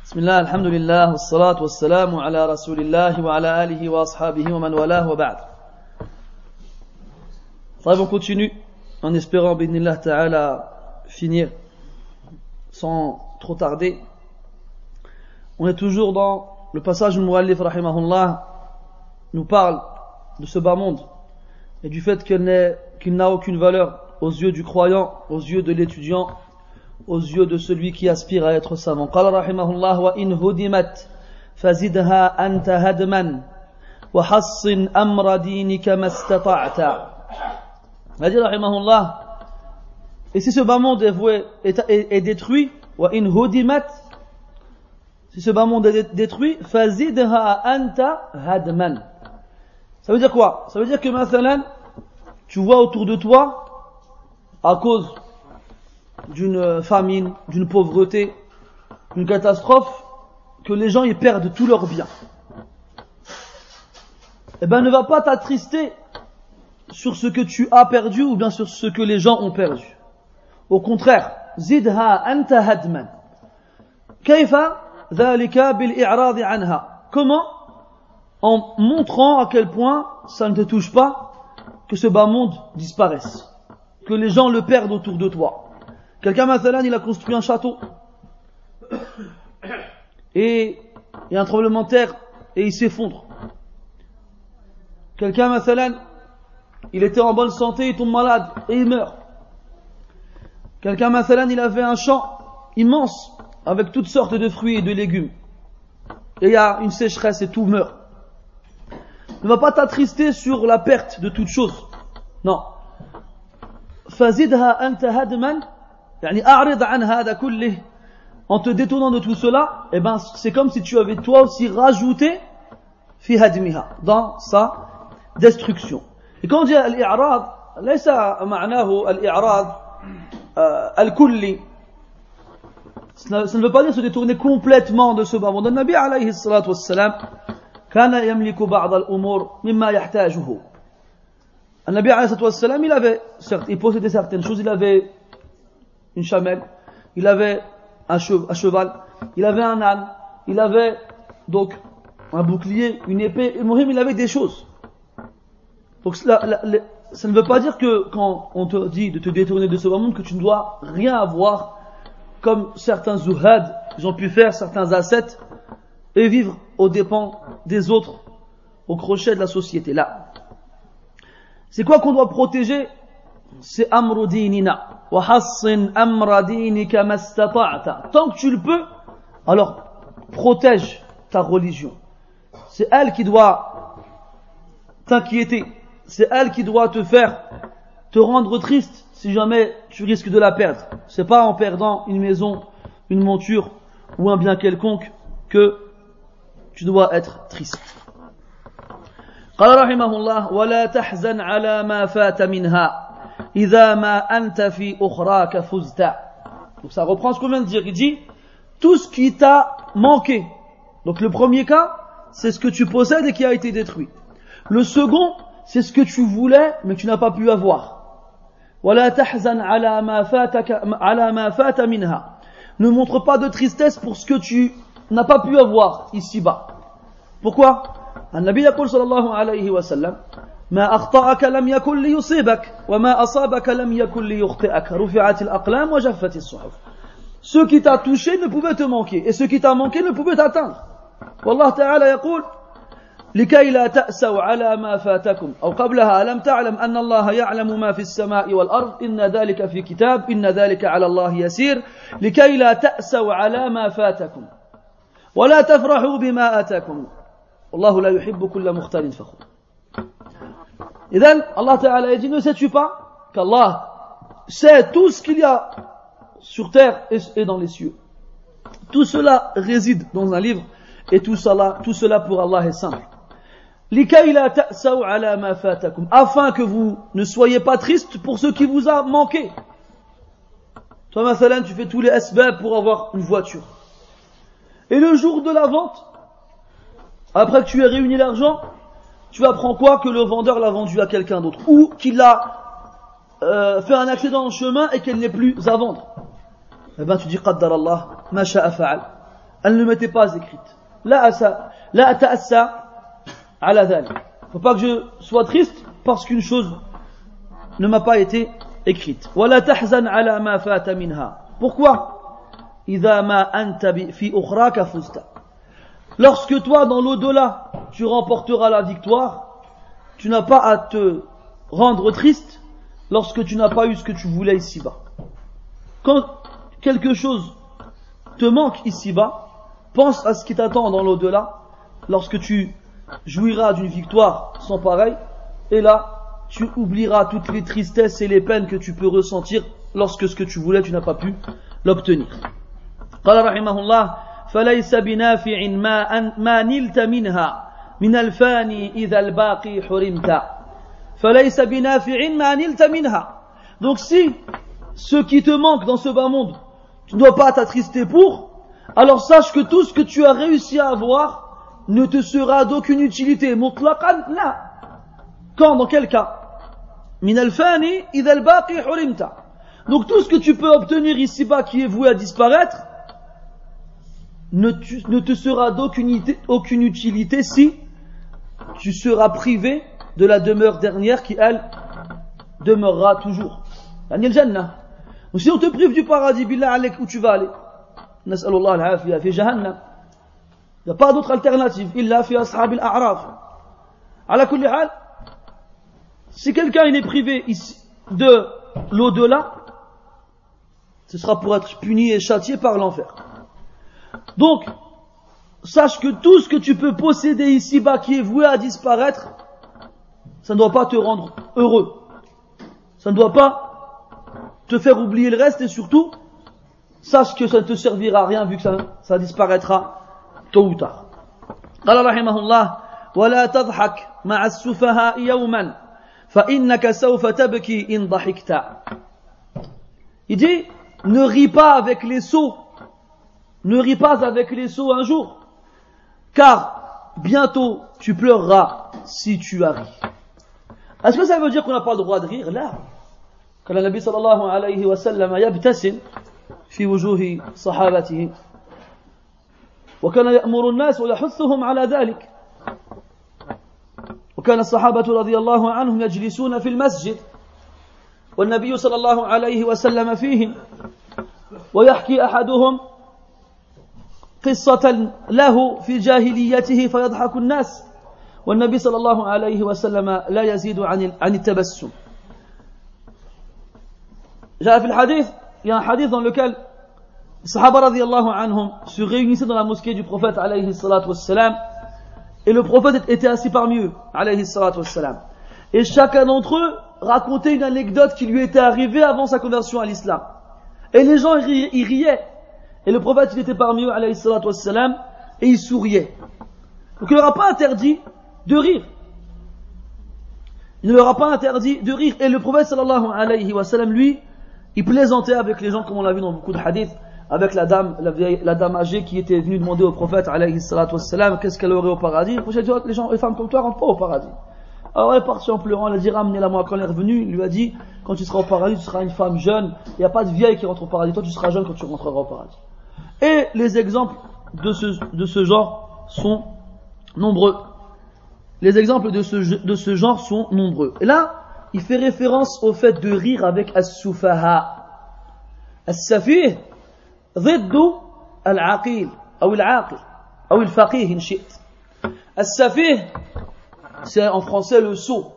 بسم الله الحمد لله والصلاة والسلام على رسول الله وعلى آله وأصحابه ومن والاه وبعد. On continue en espérant b'idhnillah ta'ala finir sans trop tarder. On est toujours dans le passage où le muallif rahimahullah nous parle de ce bas monde et du fait qu'il n'a aucune valeur aux yeux du croyant, aux yeux de l'étudiant, aux yeux de celui qui aspire à être savant. قال رحمه الله وإن هدمت فزدها أنت هدما وحصن أمر دينك ما استطعت. Il a dit رحمه الله, et si ce bas monde est détruit, وإن هدمت, si ce bas monde est détruit, فزدها أنت هدما. Ça veut dire quoi? Ça veut dire que مثلا tu vois autour de toi, à cause d'une famine, d'une pauvreté, d'une catastrophe, que les gens y perdent tous leurs biens. Eh ben, ne va pas t'attrister sur ce que tu as perdu ou bien sur ce que les gens ont perdu. Au contraire, zidha anta hadman. Kayfa dhalika bil i'rad anha. Comment? En montrant à quel point ça ne te touche pas que ce bas monde disparaisse, que les gens le perdent autour de toi. Quelqu'un, mathalan, il a construit un château et il y a un tremblement de terre et il s'effondre. Quelqu'un, mathalan, il était en bonne santé, il tombe malade et il meurt. Quelqu'un, mathalan, il avait un champ immense avec toutes sortes de fruits et de légumes et il y a une sécheresse et tout meurt. Ne va pas t'attrister sur la perte de toute chose. Non. Fazidha anta hadman. En te détournant de tout cela, eh ben, c'est comme si tu avais toi aussi rajouté fi hadmiha, dans sa destruction. Et quand on dit al-i'rad, laysa ma'nahu al-i'rad al-kulli. Ça ne veut pas dire se détourner complètement de ce bas monde. Le Nabi alayhi salatu wassalam kana yamliku ba'd al-umur mimma yahtajuhu. Le Nabi alayhi salatu wassalam, il possédait certaines choses, il avait une chamelle, il avait un cheval, il avait un âne, il avait donc un bouclier, une épée, et Mohim, il avait des choses. Donc ça ne veut pas dire que quand on te dit de te détourner de ce monde, que tu ne dois rien avoir, comme certains zuhad, ils ont pu faire, certains ascètes, et vivre aux dépens des autres, au crochet de la société. Là, c'est quoi qu'on doit protéger? C'est amru dinina. وحصن أمر دينك ما استطعت. Tant que tu le peux, alors protège ta religion. C'est elle qui doit t'inquiéter. C'est elle qui doit te rendre triste si jamais tu risques de la perdre. C'est pas en perdant une maison, une monture ou un bien quelconque que tu dois être triste. قال رحمه الله ولا تحزن على ما فات منها إذا ما أنت في أخراك فزت. Donc ça reprend ce qu'on vient de dire. Il dit tout ce qui t'a manqué. Donc le premier cas, c'est ce que tu possèdes et qui a été détruit. Le second, c'est ce que tu voulais mais que tu n'as pas pu avoir. ولا تحزن على ما فات منها. Ne montre pas de tristesse pour ce que tu n'as pas pu avoir ici-bas. Pourquoi? النبي يقول صلى الله عليه وسلم ما أخطأك لم يكن ليصيبك وما أصابك لم يكن ليخطئك رفعت الأقلام وجفت الصحف. Ce qui t'a touché ne pouvait te manquer et ce qui t'a manqué ne pouvait t'atteindre. والله تعالى يقول لكي لا تأسوا على ما فاتكم أو قبلها ألم تعلم أن الله يعلم ما في السماء والأرض إن ذلك في كتاب إن ذلك على الله يسير لكي لا تأسوا على ما فاتكم ولا تفرحوا بما آتاكم والله لا يحب كل مختال فخور. Et donc, Allah Ta'ala dit, ne sais-tu pas qu'Allah sait tout ce qu'il y a sur terre et dans les cieux. Tout cela réside dans un livre et tout cela pour Allah est simple. لِكَيْ لَا تَأْسَوْا عَلَى مَا فَاتَكُمْ. Afin que vous ne soyez pas tristes pour ce qui vous a manqué. Toi, mathalan, tu fais tous les asbab pour avoir une voiture. Et le jour de la vente, après que tu aies réuni l'argent, tu apprends quoi? Que le vendeur l'a vendu à quelqu'un d'autre. Ou qu'il a fait un accident en chemin et qu'elle n'est plus à vendre. Eh ben tu dis, Qaddar Allah, ma sha'a fa'al. elle ne m'était pas écrite. La ata'assa ala dhalik. Faut pas que je sois triste parce qu'une chose ne m'a pas été écrite. Wala tahzan ala ma fata minha. Pourquoi? Idha ma anta fi ukhraka fusta. Lorsque toi, dans l'au-delà, tu remporteras la victoire, tu n'as pas à te rendre triste lorsque tu n'as pas eu ce que tu voulais ici-bas. Quand quelque chose te manque ici-bas, pense à ce qui t'attend dans l'au-delà, lorsque tu jouiras d'une victoire sans pareil, et là, tu oublieras toutes les tristesses et les peines que tu peux ressentir lorsque ce que tu voulais, tu n'as pas pu l'obtenir. قال رحمه الله فليس بنافع ما نلت منها من الفاني إذا الباقي حرمت فليس بنافع ما نلت منها. Donc si ce qui te manque dans ce bas monde, tu ne dois pas t'attrister pour, alors sache que tout ce que tu as réussi à avoir ne te sera d'aucune utilité. Mutlaqan, là. Quand, dans quel cas? Min al-fani idha al-baqi hurimta. Donc tout ce que tu peux obtenir ici-bas qui est voué à disparaître ne te sera d'aucune utilité si tu seras privé de la demeure dernière qui, elle, demeurera toujours. Yani al-jannah. Donc si on te prive du paradis, billah alek, où tu vas aller? Nas'alullah al-afiyah, fi jahannam. Il n'y a pas d'autre alternative, illa fi ashab al-a'raf. Ala kulli hal, si quelqu'un est privé ici de l'au-delà, ce sera pour être puni et châtié par l'enfer. Donc, sache que tout ce que tu peux posséder ici-bas qui est voué à disparaître, ça ne doit pas te rendre heureux. Ça ne doit pas te faire oublier le reste et surtout, sache que ça ne te servira à rien vu que ça disparaîtra tôt ou tard. قال رحمه الله ولا تضحك مع السفهاء يوما فإنك سوف تبكي إن ضحكت. Il dit, ne ris pas avec les sots. Ne ris pas avec les sots un jour, car bientôt tu pleureras si tu as ri. Est-ce que ça veut dire qu'on n'a pas le droit de rire? Là, quand le Nabi sallallahu alayhi wa sallam yabtasim fi wujuhi sahabatihi wa kana ya'muru an-nas wa yahuthuhum ala dhalik. وكان الصحابة رضي الله عنهم يجلسون في المسجد والنبي صلى الله عليه وسلم فيهم ويحكي أحدهم قصة له في جاهليته فيضحك الناس والنبي صلى الله عليه وسلم لا يزيد عن التبسم. جاء في الحديث, il y a un hadith dans lequel les Sahaba radiyallahu anhum se réunissaient dans la mosquée du prophète alayhi salatu wassalam et le prophète était assis parmi eux alayhi salatu wassalam et chacun d'entre eux racontait une anecdote qui lui était arrivée avant sa conversion à l'islam et les gens y riaient. Et le prophète, il était parmi eux, alayhi salatu wassalam, et il souriait. Donc il ne leur a pas interdit de rire. Il ne leur a pas interdit de rire. Et le prophète, sallallahu alayhi wa sallam, lui, il plaisantait avec les gens, comme on l'a vu dans beaucoup de hadiths, avec la dame âgée qui était venue demander au prophète, alayhi salatu wassalam, qu'est-ce qu'elle aurait au paradis. Le prophète dit, les femmes comme toi rentrent pas au paradis. Alors elle est partie en pleurant, elle a dit, ramenez-la moi. Quand elle est revenue, il lui a dit, quand tu seras au paradis, tu seras une femme jeune. Il n'y a pas de vieille qui rentre au paradis. Toi, tu seras jeune quand tu rentreras au paradis. Et les exemples de ce genre sont nombreux. Les exemples de ce genre sont nombreux. Et là, il fait référence au fait de rire avec as-sufaha. As-safih, ضد العقيل أو العاقل أو الفقيه إن شئت. As-safih, c'est en français le sot.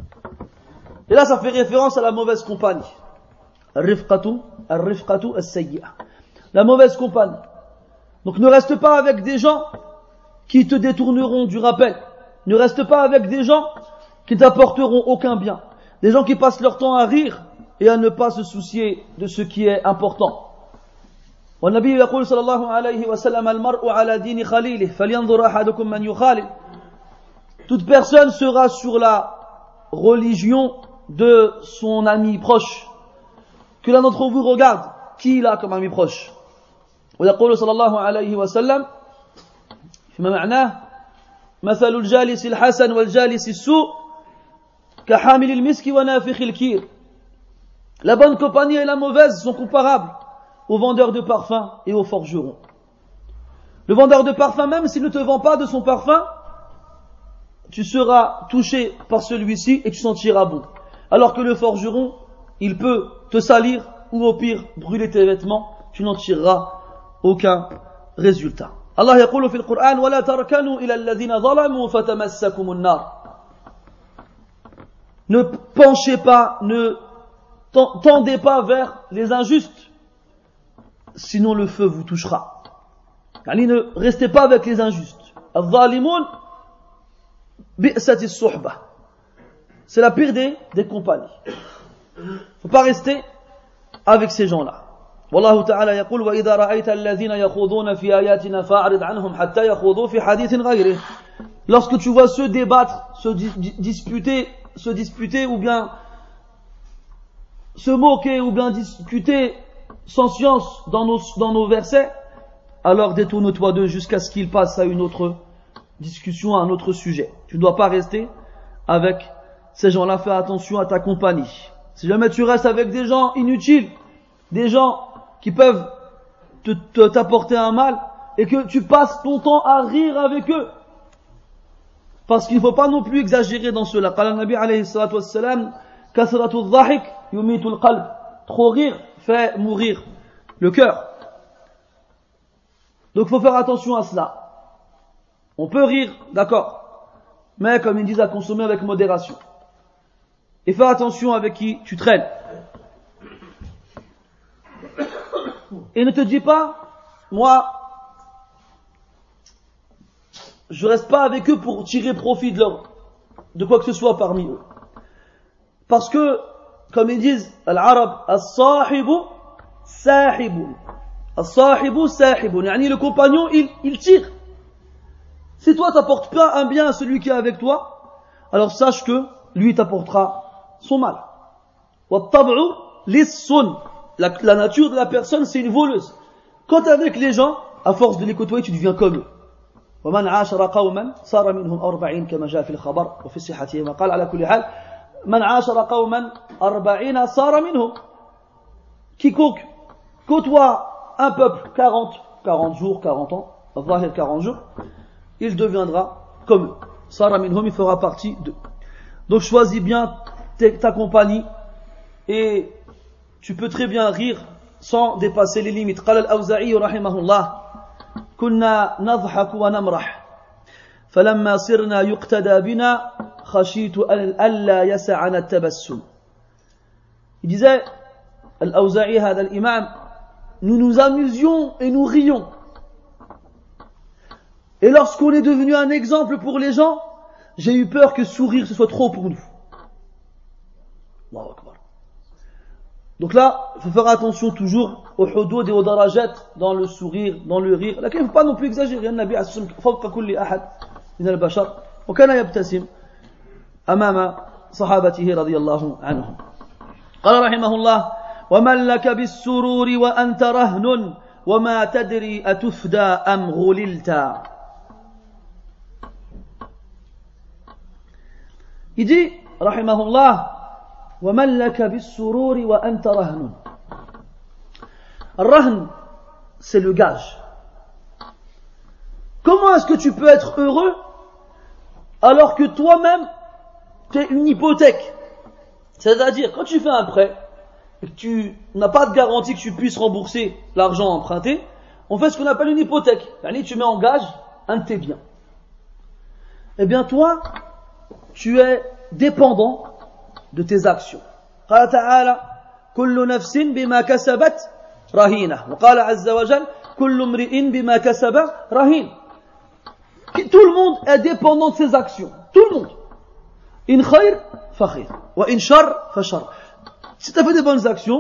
Et là, ça fait référence à la mauvaise compagnie. Ar-rifqatu as-sayyi'ah. La mauvaise compagnie. Donc ne reste pas avec des gens qui te détourneront du rappel. Ne reste pas avec des gens qui t'apporteront aucun bien. Des gens qui passent leur temps à rire et à ne pas se soucier de ce qui est important. والنبي يقول صلى الله عليه وسلم المرء على دين خليله فلينظر أحدكم من يخالل. Toute personne sera sur la religion de son ami proche. Que l'un d'entre vous regarde qui il a comme ami proche. ويقول صلى الله عليه وسلم فيما معناه مثل الجالس الحسن والجالس السوء كحامل المسك ونافخ الكير. La bonne compagnie et la mauvaise sont comparables aux vendeurs de parfums et aux forgerons. Le vendeur de parfum, même s'il ne te vend pas de son parfum, tu seras touché par celui-ci et tu sentiras bon. Alors que le forgeron, il peut te salir ou au pire brûler tes vêtements, tu n'en tireras aucun résultat. Allah yaqulu fil Qur'an wa la tarkanu ila alladhina zalamu fatamassakum an-nar. Ne penchez pas, ne tendez pas vers les injustes, sinon le feu vous touchera. Yani ne restez pas avec les injustes. Al-zalimun bi'sati as-suhbah. C'est la pire des compagnies. Faut pas rester avec ces gens-là. والله تعالى يقول وإذا رأيت الذين يخوضون في آياتنا فأعرض عنهم حتى يخوضوا في حديث غيره. Lorsque tu vois ceux débattre, se disputer ou bien se moquer ou bien discuter sans science dans nos versets, alors détourne-toi d'eux jusqu'à ce qu'ils passent à une autre discussion, à un autre sujet. Tu ne dois pas rester avec ces gens-là. Fais attention à ta compagnie. Si jamais tu restes avec des gens inutiles, des gens qui peuvent t'apporter un mal, et que tu passes ton temps à rire avec eux, parce qu'il ne faut pas non plus exagérer dans cela. Qala Nabi alayhi salatu wassalam, kathratu dhahik yumitu al-qalb. Trop rire fait mourir le cœur. Donc il faut faire attention à cela. On peut rire, d'accord, mais comme ils disent, à consommer avec modération. Et fais attention avec qui tu traînes. Et ne te dis pas, moi, je reste pas avec eux pour tirer profit de quoi que ce soit parmi eux. Parce que, comme ils disent, al-arab, as-sahibu sahibun. As-sahibu sahibun. Yani le compagnon, il tire. Si toi t'apportes pas un bien à celui qui est avec toi, alors sache que lui t'apportera son mal. Wat-tab'u lis-sun. La nature de la personne, c'est une voleuse. Quand tu es avec les gens, à force de les côtoyer, tu deviens comme eux. ومن عاشر قوما صار منهم 40 كما جاء في الخبر وفي صحته قال على كل حال من عاشر قوما 40 صار منهم. Quiconque côtoie un peuple 40 jours, 40 ans, 40 jours, il deviendra comme eux. صار منهم, il fera partie d'eux. Donc choisis bien ta compagnie et tu peux très bien rire sans dépasser les limites. قال الأوزاعي رحمه الله كنا نضحك ونمرح فلما صرنا يقتدى بنا خشيت ألا يسعنا التبسم. Il disait, Al-Awza'i, هذا الإمام, nous nous amusions et nous rions. Et lorsqu'on est devenu un exemple pour les gens, j'ai eu peur que sourire ce soit trop pour nous. Allahu Akbar. Donc là, il faut faire attention toujours au hudud et au darajat, dans le sourire, dans le rire. Là, il ne faut pas non plus exagérer. النبي عليه الصلاة والسلام فوق كل أحد من البشر وكان يبتسم أمام صحابته رضي الله عنهم. قال رحمه الله ومن لك بالسرور وأنت رهن وما تدري أتفدى أم غللت. Il dit رحمه الله وَمَنْ لَكَ بِالسُّرُورِ وَأَنْتَ رَهْنٌ. Rahn, c'est le gage. Comment est-ce que tu peux être heureux alors que toi-même tu es une hypothèque? C'est-à-dire, quand tu fais un prêt et que tu n'as pas de garantie que tu puisses rembourser l'argent emprunté, on fait ce qu'on appelle une hypothèque. C'est-à-dire, tu mets en gage un de tes biens. Eh bien toi, tu es dépendant de tes actions. قال تعالى كل نفس بما كسبت رهينة وقال عز وجل كل امرئ بما كسب رهين. Tout le monde est dépendant de ses actions. Tout le monde. إن خير فخير وإن شر فشر. Si tu as fait des bonnes actions,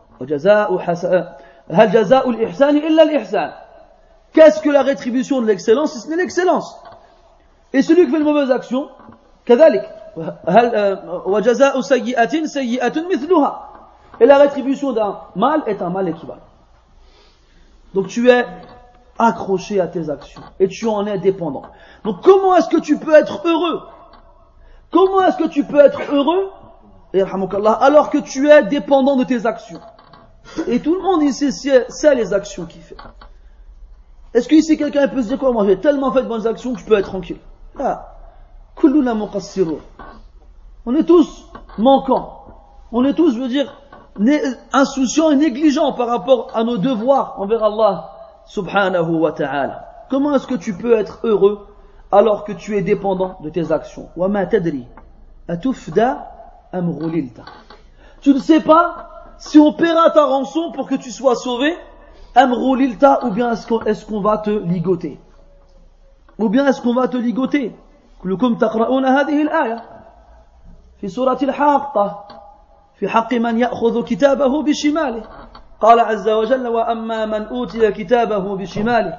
هل جزاء الإحسان إلا الإحسان. Qu'est-ce que la rétribution de l'excellence si ce n'est l'excellence? Et celui qui fait de mauvaises actions, كذلك. وجزاء سيئة سيئة مثلها. Et la rétribution d'un mal est un mal équivalent. Donc tu es accroché à tes actions et tu en es dépendant. Donc comment est-ce que tu peux être heureux? Comment est-ce que tu peux être heureux alors que tu es dépendant de tes actions? Et tout le monde ici sait les actions qu'il fait. Est-ce qu'ici quelqu'un peut se dire quoi? Moi j'ai tellement fait de bonnes actions que je peux être tranquille. Ah. Kulluna muqassirun. On est tous manquants. On est tous, je veux dire, insouciants et négligents par rapport à nos devoirs envers Allah subhanahu wa ta'ala. Comment est-ce que tu peux être heureux alors que tu es dépendant de tes actions? Wa ma tadri atufda am ghulilta. Tu ne sais pas si on paiera ta rançon pour que tu sois sauvé, am ghulilta, ou bien est-ce qu'on va te ligoter? Ou bien est-ce qu'on va te ligoter? كلكم تقرؤون هذه الآية في سورة الحاقة في حق من يأخذ كتابه بشماله قال عز وجل وأما من أوتي كتابه بشماله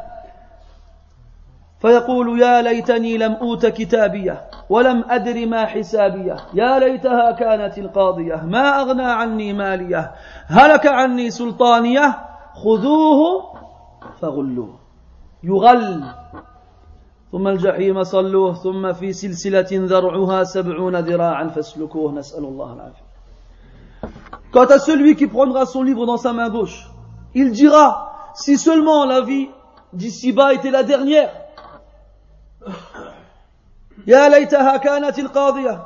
فيقول يا ليتني لم أوت كتابيه ولم أدر ما حسابيه يا ليتها كانت القاضية ما أغنى عني ماليه هلك عني سلطانيه خذوه فغلوه يغل ثم الجحيم صلوه ثم في سلسلة ذرعها 70 ذراعا فاسلكوه نسأل الله العافية. Quant à celui qui prendra son livre dans sa main gauche, il dira, si seulement la vie d'ici-bas était la dernière. Ya laytaha kanat al-qadiyah.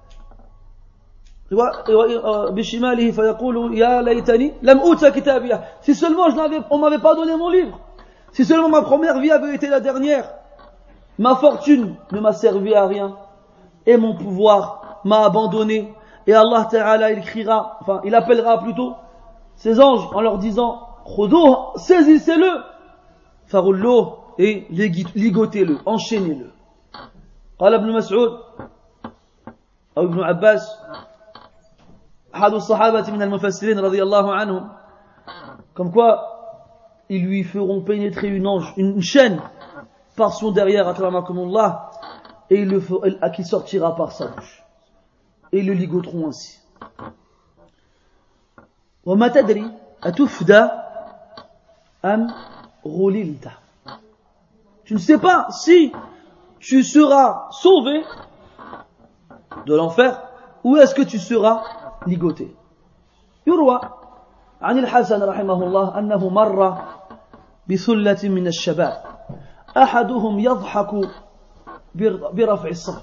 بشماله فيقول يا ليتني لم أوت كتابيه. Si seulement on m'avait pas donné mon livre. Si seulement ma première vie avait été la dernière. Ma fortune ne m'a servi à rien et mon pouvoir m'a abandonné. Et Allah Ta'ala il appellera plutôt ses anges en leur disant Khudouh, saisissez-le, Farulloh, et ligotez-le, enchaînez-le. قال ابن مسعود أو ابن عباس أحد الصحابة من المفسرين رضي الله عنهم, comme quoi ils lui feront pénétrer une chaîne par son derrière, akramakumullah, et qui sortira par sa bouche. Et ils le ligoteront ainsi. وَمَا تَدْرِي أَتُفْدَى أَمْ غُلِلْتَ. Tu ne sais pas si tu seras sauvé de l'enfer ou est-ce que tu seras ligoté. يروى عن الحسن رحمه الله أنه مر بثلة من الشباب أحدهم يضحك برفع الصوت.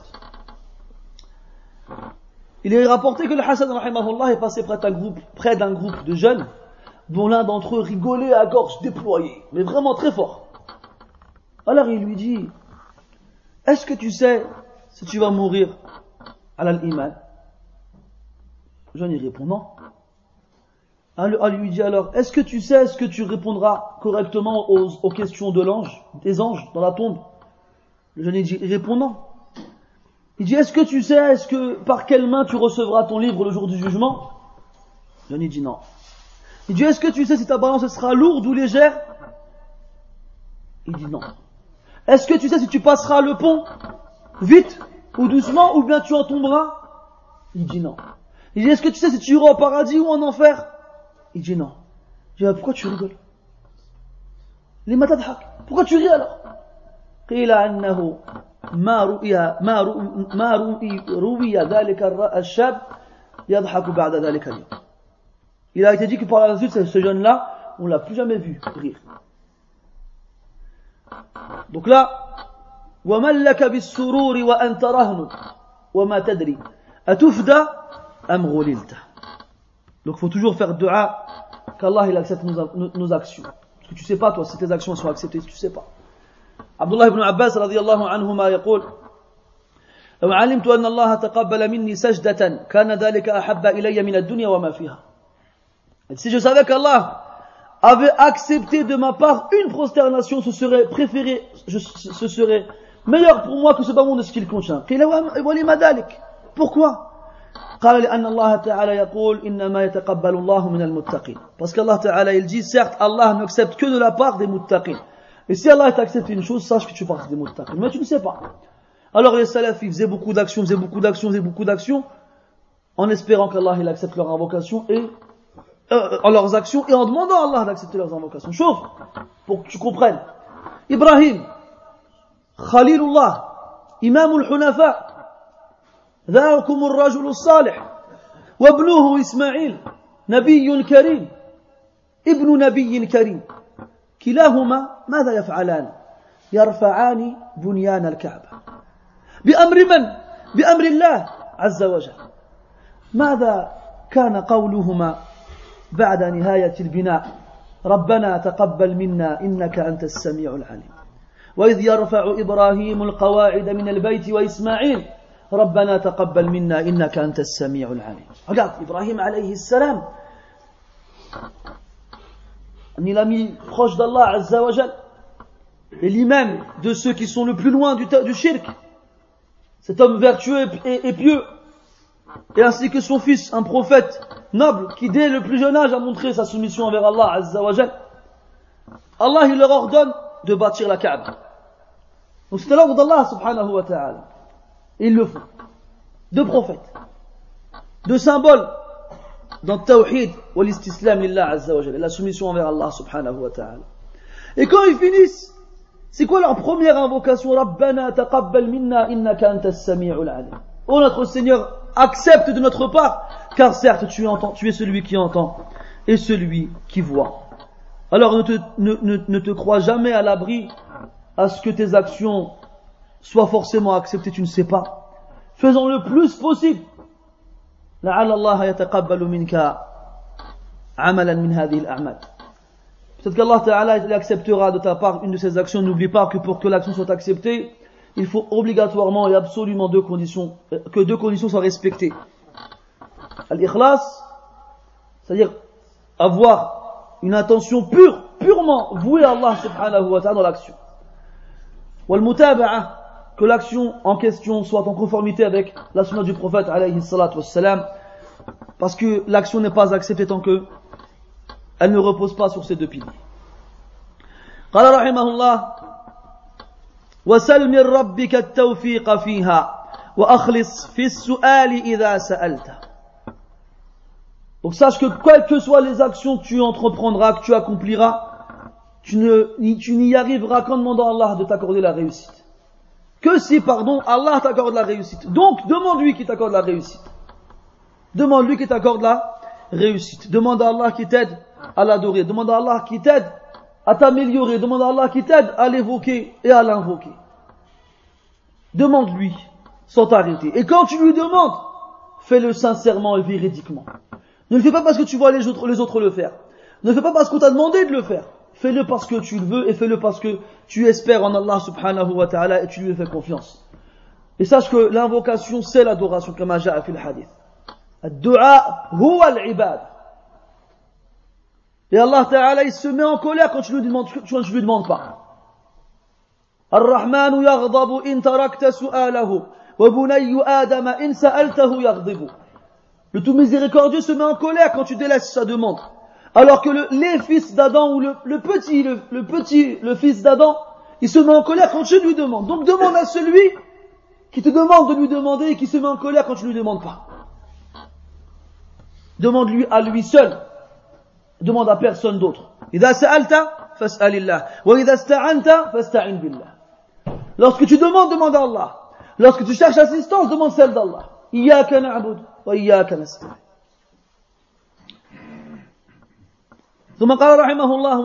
Il est rapporté que le Hassan rahimahullah est passé près d'un groupe de jeunes dont l'un d'entre eux rigolait à gorge déployée, mais vraiment très fort. Alors il lui dit, est-ce que tu sais si tu vas mourir à l'iman? Le jeune il répond non. Alors il lui dit alors, est-ce que tu sais, est-ce que tu répondras correctement aux questions des anges dans la tombe? Le jeune il répond non. Il dit, est-ce que tu sais, par quelle main tu recevras ton livre le jour du jugement? Le jeune il dit non. Il dit, est-ce que tu sais si ta balance sera lourde ou légère? Il dit non. Est-ce que tu sais si tu passeras le pont vite ou doucement ou bien tu en tomberas? Il dit non. Il dit, est-ce que tu sais si tu iras au paradis ou en enfer? Il dit non. Il dit, pourquoi tu rigoles? Lima tadhak? Pourquoi tu ris alors? قيل أنه ما روي ذلك الشاب يضحك بعد ذلك اليوم. Il a été dit que par la suite ce jeune-là, on l'a plus jamais vu rire. Donc là, وَمَنْ لَكَ بِالسُّرُورِ وَأَنْتَ رَهْنُ وَمَا تَدْرِي أَتُفْدَى أَمْ غُلِلْتَ. Donc il faut toujours faire dua qu'Allah il accepte nos actions. Parce que tu sais pas toi si tes actions sont acceptées, tu sais pas. Abdullah ibn Abbas radiyallahu anhuma يقول لو علمت أن الله تقبل مني سجدة كان ذلك أحب إلي من الدنيا وما فيها. Si je savais qu'Allah avait accepté de ma part une prosternation, ce serait meilleur pour moi que ce bas monde de ce qu'il contient. Pourquoi? قال لأن الله تعالى يقول إنما يتقبل الله من المتقين. Parce qu'Allah Ta'ala il dit certes Allah n'accepte que de la part des muttaqin. Et si Allah t'accepte une chose, sache que tu fais partie des muttaqin. Mais tu ne sais pas. Alors les salafs ils faisaient beaucoup d'actions en espérant qu'Allah il accepte leur invocation et leurs actions et en demandant à Allah d'accepter leurs invocations. Chauffe, pour que tu comprennes. Ibrahim, Khalilullah, Imam al-Hunafa, ذاكم الرجل الصالح وابنه إسماعيل نبي كريم ابن نبي كريم كلاهما ماذا يفعلان؟ يرفعان بنيان الكعبة بأمر من؟ بأمر الله عز وجل. ماذا كان قولهما بعد نهاية البناء؟ ربنا تقبل منا إنك أنت السميع العليم. وإذ يرفع إبراهيم القواعد من البيت وإسماعيل ربنا تقبل منا إنك أنت السميع العليم. Regarde, Ibrahim alayhi salam, il a mis proche d'Allah Azza wa Jal, et l'imam de ceux qui sont le plus loin du shirk, cet homme vertueux et pieux, et ainsi que son fils, un prophète noble, qui dès le plus jeune âge a montré sa soumission envers Allah Azza wa Jal. Allah, il leur ordonne de bâtir la Kaaba. Donc c'est l'ordre d'Allah subhanahu wa ta'ala. Et ils le font. Deux prophètes, deux symboles dans le tawhid ou l'istislam lillah azza wa jalla, la soumission envers Allah subhanahu wa ta'ala. Et quand ils finissent, c'est quoi leur première invocation? Rabbana taqabbal minna innaka antas sami'ul alim. Oh notre Seigneur, accepte de notre part, car certes tu es celui qui entend et celui qui voit. Alors ne te crois jamais à l'abri à ce que tes actions soient forcément acceptées, tu ne sais pas. Faisons le plus possible. لعل الله يتقبل منك عملا من هذه الأعمال. Peut-être qu'Allah Ta'ala il acceptera de ta part une de ces actions. N'oublie pas que pour que l'action soit acceptée, il faut obligatoirement et absolument que deux conditions soient respectées. Al-ikhlas, c'est-à-dire avoir une intention purement vouée à Allah subhanahu wa ta'ala dans l'action. Wal-mutaba'a, que l'action en question soit en conformité avec la sunna du prophète alayhi salatu wassalam, parce que l'action n'est pas acceptée tant que elle ne repose pas sur ces deux piliers. قال رحمه الله وسل من ربك التوفيق فيها وأخلص في السؤال إذا سألت. Donc sache que quelles que soient les actions que tu entreprendras, que tu accompliras, tu n'y arriveras qu'en demandant à Allah de t'accorder la réussite. Que si, Allah t'accorde la réussite. Donc, demande-lui qui t'accorde la réussite. Demande-lui qui t'accorde la réussite. Demande à Allah qui t'aide à l'adorer. Demande à Allah qui t'aide à t'améliorer. Demande à Allah qui t'aide à l'évoquer et à l'invoquer. Demande-lui sans t'arrêter. Et quand tu lui demandes, fais-le sincèrement et véridiquement. Ne le fais pas parce que tu vois les autres le faire. Ne le fais pas parce qu'on t'a demandé de le faire. Fais-le parce que tu le veux et fais-le parce que tu espères en Allah subhanahu wa ta'ala et tu lui fais confiance. Et sache que l'invocation c'est l'adoration, comme ja'a fil hadith. Ad-du'a huwa al-ibad. Et Allah ta'ala il se met en colère quand tu lui demandes pas. Ar-Rahmanu yaghdabu in tarakta su'alahu wa bunayyu Adama in sa'altahu yaghdibu. Le tout miséricordieux se met en colère quand tu délaisses sa demande. Alors que les fils d'Adam ou le fils d'Adam, il se met en colère quand tu lui demandes. Donc demande à celui qui te demande de lui demander et qui se met en colère quand tu lui demandes pas. Demande-lui à lui seul. Demande à personne d'autre. إذا سألت فاسأل الله وإذا استعنت فاستعن بالله. Lorsque tu demandes, demande à Allah. Lorsque tu cherches assistance, demande celle d'Allah. إياك نعبد وإياك نستعين. ثم قال رحمه الله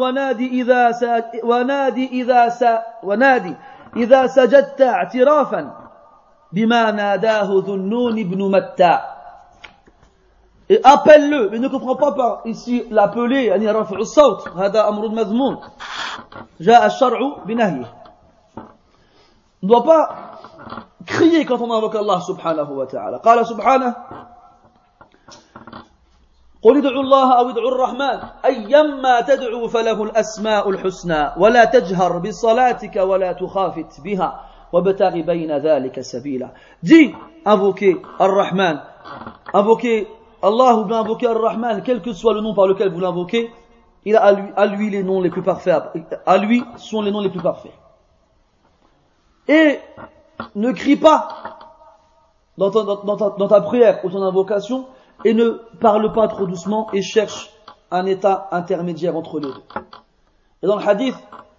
ونادي إذا سجدت اعترافا بما ناداه ذو النون بن متى. Et appelle-le, mais ne comprends pas par ici l'appeler, يعني رفع الصوت هذا أمر مذموم جاء الشرع بنهيه. On ne doit pas crier quand on invoque Allah subhanahu wa ta'ala. قال سبحانه قل ادعوا الله أو ادعوا الرحمن أيما تدعوا فله الأسماء الحسنى ولا تجهر بصلاتك ولا تخافت بها وابتغ بين ذلك سبيلا. Dis, invoquez Ar-Rahman, invoquez Allah ou bien invoquez Ar-Rahman, quel que soit le nom par lequel vous l'invoquez, il a à lui les noms les plus parfaits, à lui sont les noms les plus parfaits. Et ne crie pas dans ta prière ou ton invocation, et ne parle pas trop doucement et cherche un état intermédiaire entre les deux. Et dans le hadith,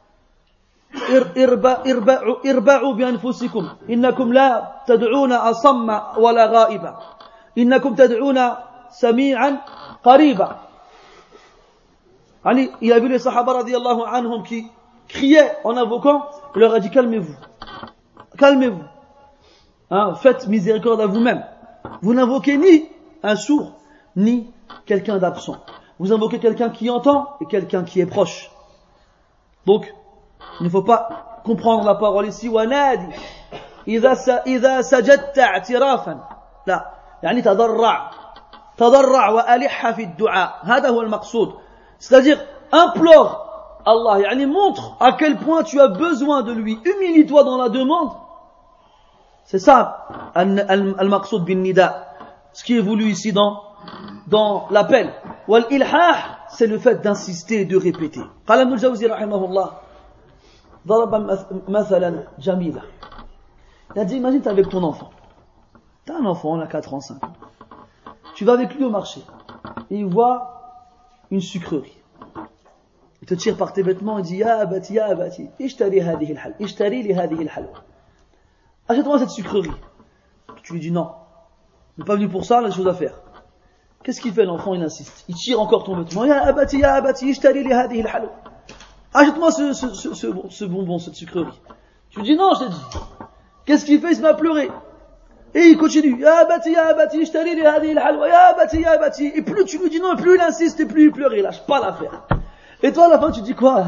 irba'u bi anfusikum innakum la tad'una asamma wala ghaiba innakum tad'una sami'an qariba. Ali, il a vu les Sahaba radiyallahu anhum qui criaient en invoquant, il leur a dit calmez-vous, calmez-vous, hein, faites miséricorde à vous-même. Vous n'invoquez ni un sourd, ni quelqu'un d'absent. Vous invoquez quelqu'un qui entend et quelqu'un qui est proche. Donc, il ne faut pas comprendre la parole ici, وَنَادِ إِذَا سَجَدْتَ اعْتِرَافًا لا يعني تضرع وألح في الدعاء هذا هو المقصود. C'est-à-dire, implore Allah, يعني montre à quel point tu as besoin de lui, humilie-toi dans la demande. C'est ça, al-maqsoud bin nida, ce qui est voulu ici dans l'appel. Wal-ilhah, c'est le fait d'insister et de répéter. Qala Ibn al-Jawzi rahimahullah, daraba mathalan jamila. Il a dit, imagine t'es avec ton enfant. T'as un enfant, il a 4 ans, 5 ans. Tu vas avec lui au marché, et il voit une sucrerie. Il te tire par tes vêtements et dit, ya abati, ishtari li hadihi al-halwa. Achète-moi cette sucrerie. Tu lui dis non. Il n'est pas venu pour ça, il a des choses à faire. Qu'est-ce qu'il fait l'enfant? Il insiste. Il tire encore ton vêtement. Ya abati, ishtari li hadihi al-halwa. Achète-moi ce bonbon, cette sucrerie. Tu lui dis non, je t'ai dit. Qu'est-ce qu'il fait? Il se met à pleurer. Et il continue. Ya abati, ishtari li hadihi al-halwa. Ya abati. Et plus tu lui dis non, et plus il insiste, et plus il pleure, il lâche pas l'affaire. Et toi, à la fin, tu dis quoi?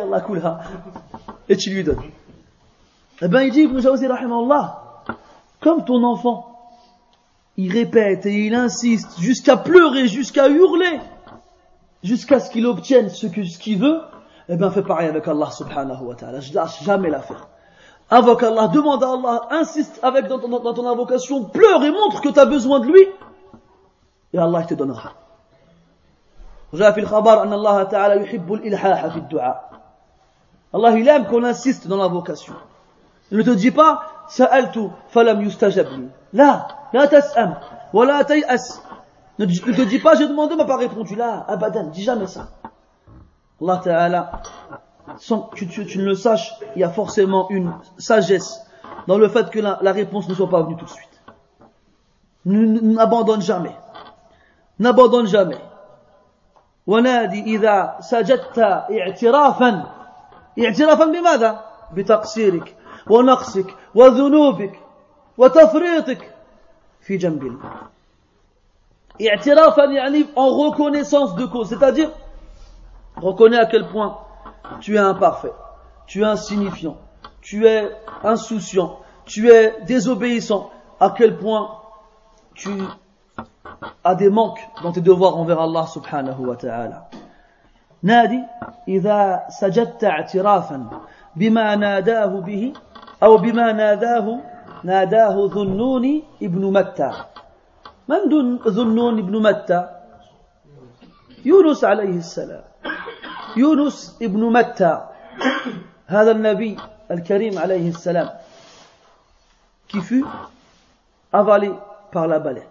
Et tu lui donnes. Eh ben, il dit, Ibn Jawzi rahimahullah, comme ton enfant, il répète et il insiste jusqu'à pleurer, jusqu'à hurler, jusqu'à ce qu'il obtienne ce qu'il veut, eh ben, fais pareil avec Allah subhanahu wa ta'ala. Je lâche jamais l'affaire. Invoque Allah, demande à Allah, insiste avec dans ton invocation, pleure et montre que tu as besoin de lui, et Allah il te donnera. جاء في الخبر أن الله تعالى يحب الإلحاح في الدعاء. Allah il aime qu'on insiste dans l'invocation. Il ne te dit pas سألت فلم يستجب لي. لا تسأم ولا تيأس. Ne te dis pas j'ai demandé m'a pas répondu. Là, abadan, dis jamais ça. Allah Ta'ala, sans que tu ne le saches, il y a forcément une sagesse dans le fait que la réponse ne soit pas venue tout de suite. N'abandonne jamais. N'abandonne jamais. ونادي إذا سجدت اعترافا بماذا؟ بتقصيرك ونقصك وذنوبك وتفريطك في جنب الله. اعترافا يعني en reconnaissance de cause, c'est-à-dire reconnais à quel point tu es imparfait, tu es insignifiant, tu es insouciant, tu es désobéissant, à quel point tu a des manques dans tes devoirs envers Allah subhanahu wa ta'ala. نادي إذا سجدت اعترافا بما ناداه به أو بما ناداه ذنون ابن متى. من ذنون ابن متى؟ يونس عليه السلام. يونس ابن متى هذا النبي الكريم عليه السلام qui fut avalé par la baleine.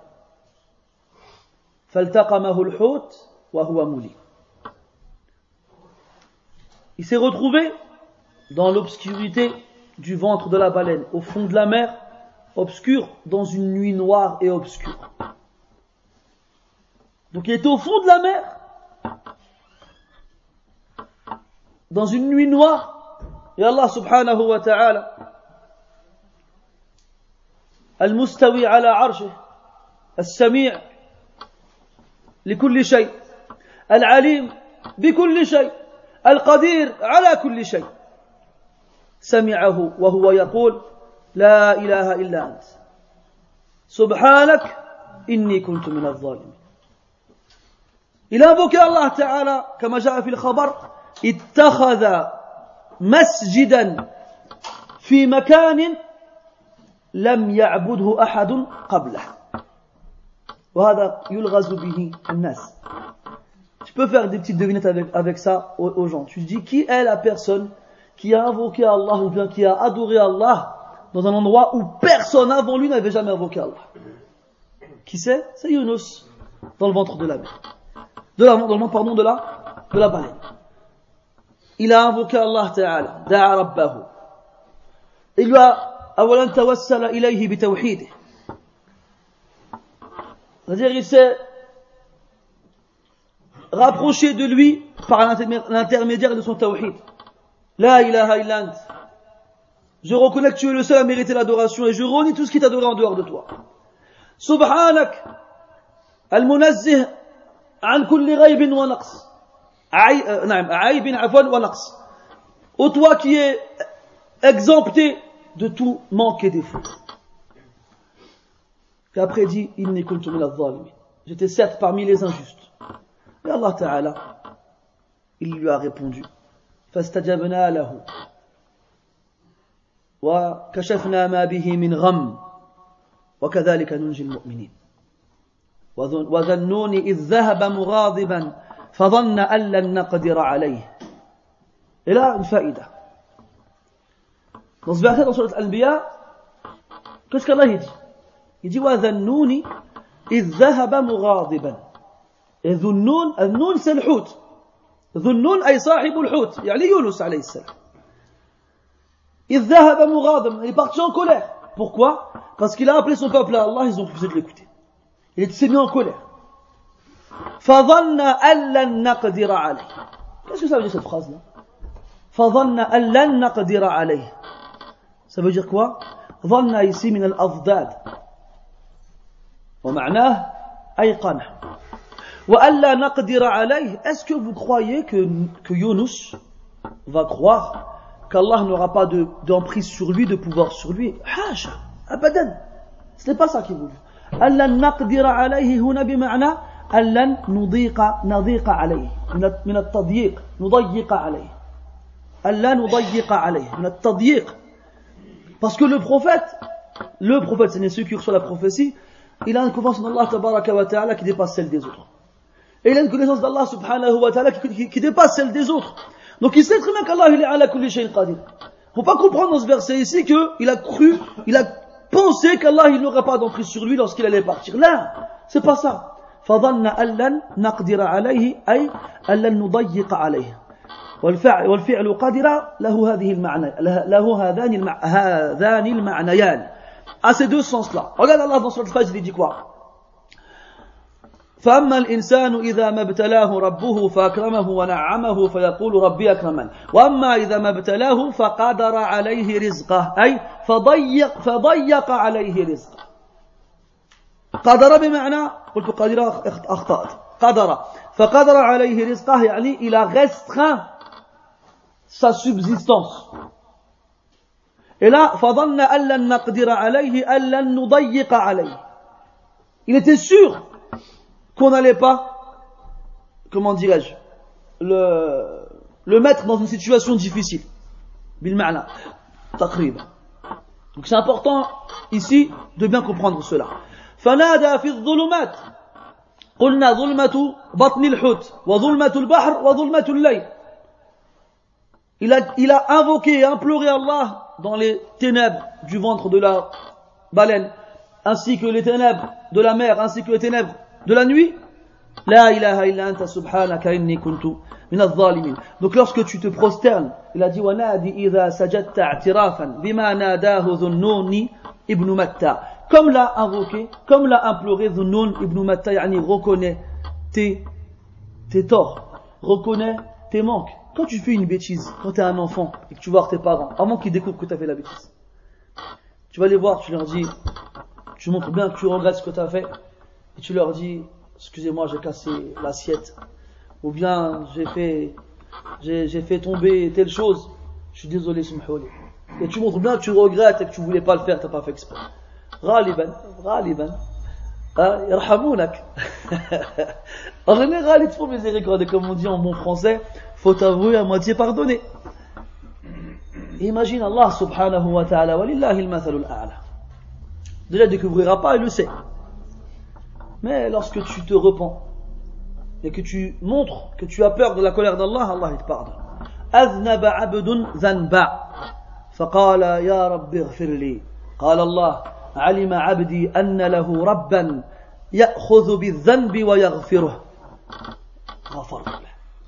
فالتقمه الحوت وهو مليم. Il s'est retrouvé dans l'obscurité du ventre de la baleine, au fond de la mer, obscur, dans une nuit noire et obscure. Donc il était au fond de la mer, dans une nuit noire, et Allah subhanahu wa ta'ala, al-mustawi ala arshih, al-sami' لكل شيء العليم بكل شيء القدير على كل شيء سمعه وهو يقول لا إله إلا أنت سبحانك إني كنت من الظالمين. Il a invoqué Allah Ta'ala كما جاء في الخبر اتخذ مسجدا في مكان لم يعبده أحد قبله. وهذا يلغز به الناس. Tu peux faire des petites devinettes avec ça aux gens. Tu dis qui est la personne qui a invoqué Allah ou bien qui a adoré Allah dans un endroit où personne avant lui n'avait jamais invoqué Allah. Qui c'est? C'est Yunus dans le ventre de la mer. De la baleine. Il a invoqué Allah Ta'ala, da'a rabbahu. Il lui a awalan tawassala ilayhi bi tawhidih. C'est-à-dire il s'est rapprocher de lui par l'intermédiaire de son tawhid. La ilaha illa ant. Je reconnais que tu es le seul à mériter l'adoration et je renie tout ce qui est adoré en dehors de toi. Subhanak, al-munazzih an kulli ghaybin wa naqs. Aïbin afwan wa naqs. Ô toi qui es exempté de tout manque et défaut. Et après dit, inni kuntu min adh-dhalimin. J'étais certes parmi les injustes. Et Allah Ta'ala, il lui a répondu. فاستجبنا له وكشفنا ما به من غم وكذلك ننجي المؤمنين وذا النون إذ ذهب مغاضبا فظن أن لن نقدر عليه. Et là, une faïda. Dans ce verset, dans Surat Al-Anbiya, qu'est-ce qu'Allah dit? Il dit وذا النون إذ ذهب مغاضبا. Et ذو النون, النون c'est le حوت. ذو النون أي صاحب الحوت يعني يونس عليه السلام. إذ ذهب مغاضبا. Il est parti en colère. Pourquoi? Parce qu'il a appelé son peuple à Allah, ils ont refusé de l'écouter. Il s'est mis en colère. فظن أن لن نقدر عليه. Qu'est-ce que ça veut dire cette phrase-là? فظن أن لن نقدر عليه. Ça veut dire quoi? ظن ici من الأضداد. ومعناه أيقن. وألا نقدر عليه. Est-ce que vous croyez que Yunus va croire qu'Allah n'aura pas d'emprise sur lui, de pouvoir sur lui? حاشا أبدا. Ce n'est pas ça qu'il voulait. ألا نقدر عليه هنا بمعنى ألا نضيق عليه من التضييق نضيق عليه ألا نضيق عليه من التضييق. Parce que le prophète c'est celui qui reçoit la prophétie, il a une connaissance d'Allah tabaraka wa ta'ala qui dépasse celle des autres. Et il a une connaissance d'Allah subhanahu wa ta'ala qui dépasse celle des autres. Donc il sait très bien qu'Allah il est ala kulli shay'in qadir. Faut pas comprendre dans ce verset ici qu'il a cru, il a pensé qu'Allah il n'aurait pas d'emprise sur lui lorsqu'il allait partir. Là, c'est pas ça. فظن أن لن نقدر عليه أي أن لن نضيق عليه. والفعل قدر له هذه المعنى له هذان المعنيان. À ces deux sens-là. Regarde Allah dans Surat Al-Fajr, il dit quoi? فأما الإنسان إذا ما ابتلاه ربه فأكرمه ونعمه فيقول ربي أكرمن وأما إذا ما ابتلاه فقدر عليه رزقه أي فضيق عليه رزقه. قدر بمعنى قلت قدر أخطأت قدر فقدر عليه رزقه يعني il a restreint sa subsistance. Et là فظن أن لن نقدر عليه أن لن نضيق عليه. Il était sûr qu'on n'allait pas, comment dirais-je, le mettre dans une situation difficile. Bil ma'na, taqrib. Donc c'est important ici de bien comprendre cela. فنادى في الظلمات قلنا ظلمة بطن الحوت وظلمة البحر وظلمة الليل. Il a invoqué et imploré Allah dans les ténèbres du ventre de la baleine, ainsi que les ténèbres de la mer, ainsi que les ténèbres de la nuit. La ilaha illa anta subhanaka inni kuntu min adh-dhalimin. Donc lorsque tu te prosternes, il a dit wa nadi idha sajadta i'tirafan bima nadahu dhunnun ibn Matta. Comme l'a invoqué, comme l'a imploré Dhunnun ibn Matta, yani reconnais tes torts, reconnais tes manques. Quand tu fais une bêtise, quand tu es un enfant et que tu vas voir tes parents, avant qu'ils découvrent que tu as fait la bêtise, tu vas les voir, tu leur dis, tu montres bien que tu regrettes ce que tu as fait, et tu leur dis, excusez-moi, j'ai cassé l'assiette, ou bien j'ai fait tomber telle chose, je suis désolé, Subhanallah. Et tu montres bien que tu regrettes et que tu voulais pas le faire, tu n'as pas fait exprès. غالبا يرحمونك. En général, ils te font miséricorde, comme on dit en bon français, faut avouer à moitié pardonner. Imagine Allah subhanahu wa ta'ala, walillahi al-mathalul a'la. Déjà, il ne découvrira pas, il le sait. Mais lorsque tu te repens et que tu montres que tu as peur de la colère d'Allah, Allah il te pardonne. أذنب عبد ذنبا فقال يا رب اغفر لي قال الله علم عبدي أن له ربا يأخذ بالذنب ويغفره غفرت له.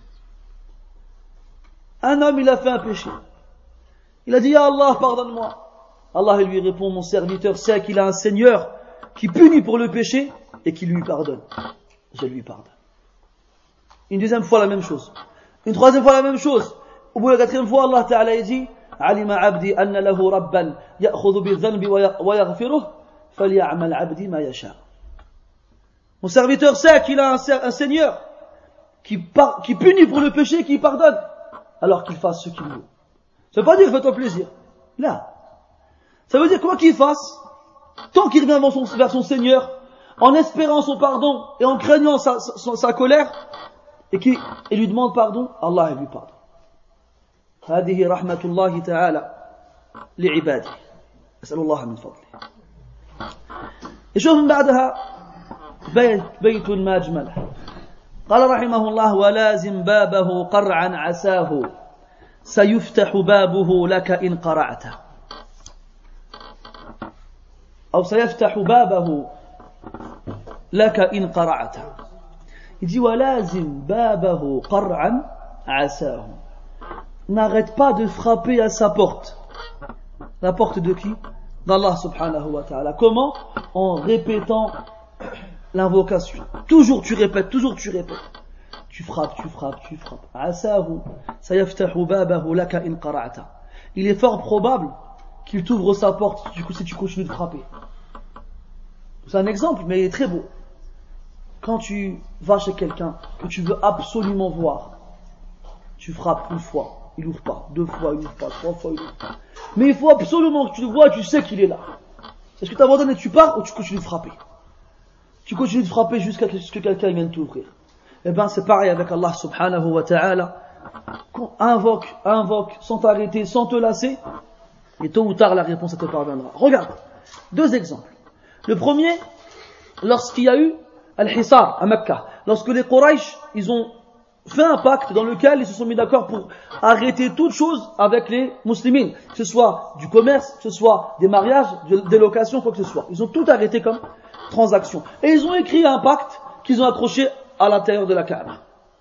Un homme il a fait un péché, il a dit ya Allah pardonne-moi. Allah il lui répond mon serviteur sait qu'il a un Seigneur qui punit pour le péché et qui lui pardonne, je lui pardonne. Une deuxième fois la même chose. Une troisième fois la même chose. Au bout de la quatrième fois, Allah Ta'ala dit علم عبدي أن له ربا يأخذ بالذنب ويغفره فليعمل عبدي ما يشاء. Mon serviteur sait qu'il a un Seigneur qui punit pour le péché et qui pardonne, alors qu'il fasse ce qu'il veut. Ça veut pas dire fais-toi plaisir. Là. Ça veut dire quoi qu'il fasse, tant qu'il revient vers son Seigneur, en espérant son pardon et en craignant sa colère, et lui demande pardon, Allah lui pardonne. هذه رحمة الله تعالى لعباده. أسأل الله من فضله. يشوف من بعدها بيت ما أجمله. قال رحمه الله ولازم بابه قرعا عساه سيفتح بابه لك إن قرعته أو سيفتح بابه لك إن قرعته. Il dit ولازم بابه قرعا عساه. N'arrête pas de frapper à sa porte. La porte de qui? D'Allah subhanahu wa ta'ala. Comment? En répétant l'invocation. Toujours tu répètes. Tu frappes. Asahu sayaftahu babahu laka in qara'ta. Il est fort probable qu'il t'ouvre sa porte si tu continues de frapper. C'est un exemple, mais il est très beau. Quand tu vas chez quelqu'un que tu veux absolument voir, tu frappes une fois. Il ouvre pas, 2 fois, il ouvre pas, 3 fois, il ouvre pas. Mais il faut absolument que tu le vois, tu sais qu'il est là. Est-ce que tu abandonnes et tu pars ou tu continues de frapper? Tu continues de frapper jusqu'à ce que quelqu'un vienne t'ouvrir. Eh bien, c'est pareil avec Allah subhanahu wa ta'ala. Invoque, sans t'arrêter, sans te lasser. Et tôt ou tard, la réponse te parviendra. Regarde, 2 exemples. Le premier, lorsqu'il y a eu Al-Hisar à Mecca. Lorsque les Quraysh, ils ont fait un pacte dans lequel ils se sont mis d'accord pour arrêter toute chose avec les musulmans, que ce soit du commerce, que ce soit des mariages, des locations, quoi que ce soit. Ils ont tout arrêté comme transaction. Et ils ont écrit un pacte qu'ils ont accroché à l'intérieur de la Kaaba.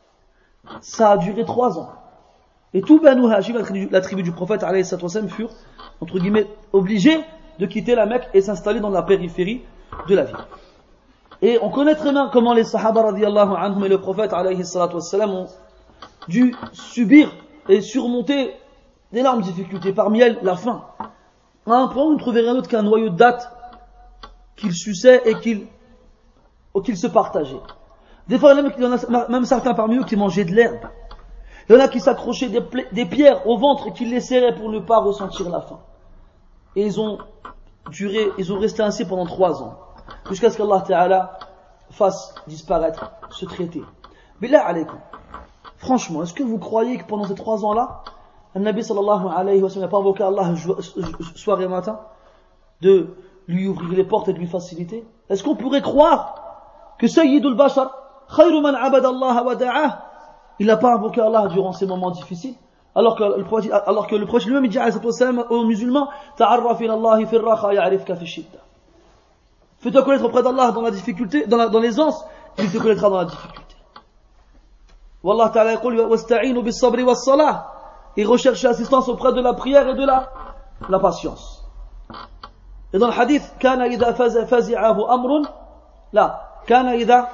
Ça a duré 3 ans. Et tout Banu Hashim, la tribu du prophète, alayhi salatu wassalam, furent, entre guillemets, obligés de quitter la Mecque et s'installer dans la périphérie de la ville. Et on connaît très bien comment les Sahaba radiyallahu anhum et le prophète alayhi salatu wassalam ont dû subir et surmonter d'énormes difficultés, parmi elles la faim. À un point, on ne trouvait rien d'autre qu'un noyau de dattes qu'ils suçaient et qu'ils se partageaient. Des fois, il y en a même certains parmi eux qui mangeaient de l'herbe. Il y en a qui s'accrochaient des pierres au ventre et qui les serraient pour ne pas ressentir la faim. Et ils ont resté ainsi pendant 3 ans. Jusqu'à ce qu'Allah Ta'ala fasse disparaître ce traité. Billah alaykum. Franchement, est-ce que vous croyez que pendant ces 3 ans-là, le Nabi sallallahu alayhi wa sallam n'a pas invoqué Allah soir et matin de lui ouvrir les portes et de lui faciliter? Est-ce qu'on pourrait croire que Sayyidul Bashar, khayru man abada Allah wa da'ah, il n'a pas invoqué Allah durant ces moments difficiles? Alors que le prophète lui-même dit aux musulmans, ta'arraf ila Allah fi ar-raha ya'rifka fi ash-shidda. Fais-toi connaître auprès d'Allah dans la difficulté, dans l'aisance, il te connaîtra dans la difficulté. Wallah ta'ala yaqul wasta'inu bis-sabri was-salah. Et recherchez assistance auprès de la prière et de la patience. Et dans le hadith, kana idha fazi'ahu amrun, là, kana idha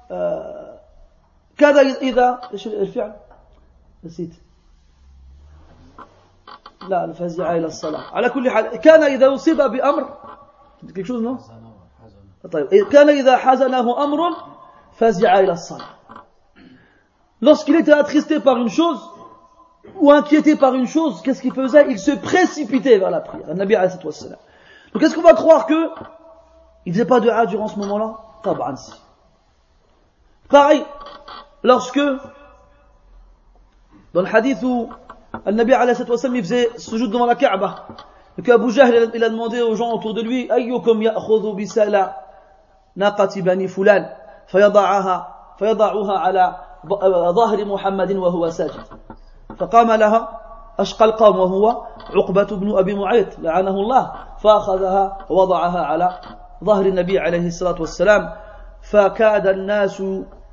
ايش الفعل؟ نسيت. لا الفزع الى الصلاة. على كل حال كان إذا أصيب بأمر quelque chose non؟ طيب كان إذا حزنه أمر فزع إلى الصلاة. Lorsqu'il était attristé par une chose ou inquiété par une chose, qu'est-ce qu'il faisait? Il se précipitait vers la prière. Nabi alayhi salatu wassalam. Donc est-ce qu'on va croire que il faisait pas de dua durant ce moment-là? Tab'an si. Pareil, lorsque dans le hadith où le Nabi alayhi salatu wassalam il faisait sujoud devant la Kaaba, et que Abu Jahl il a demandé aux gens autour de lui ayyukum ya'khudhu bisala naqati bani fulan fayada'uha ala ظهر محمد وهو ساجد فقام لها أشقى القوم وهو عقبة بن أبي معيط لعنه الله فأخذها ووضعها على ظهر النبي عليه الصلاة والسلام فكاد الناس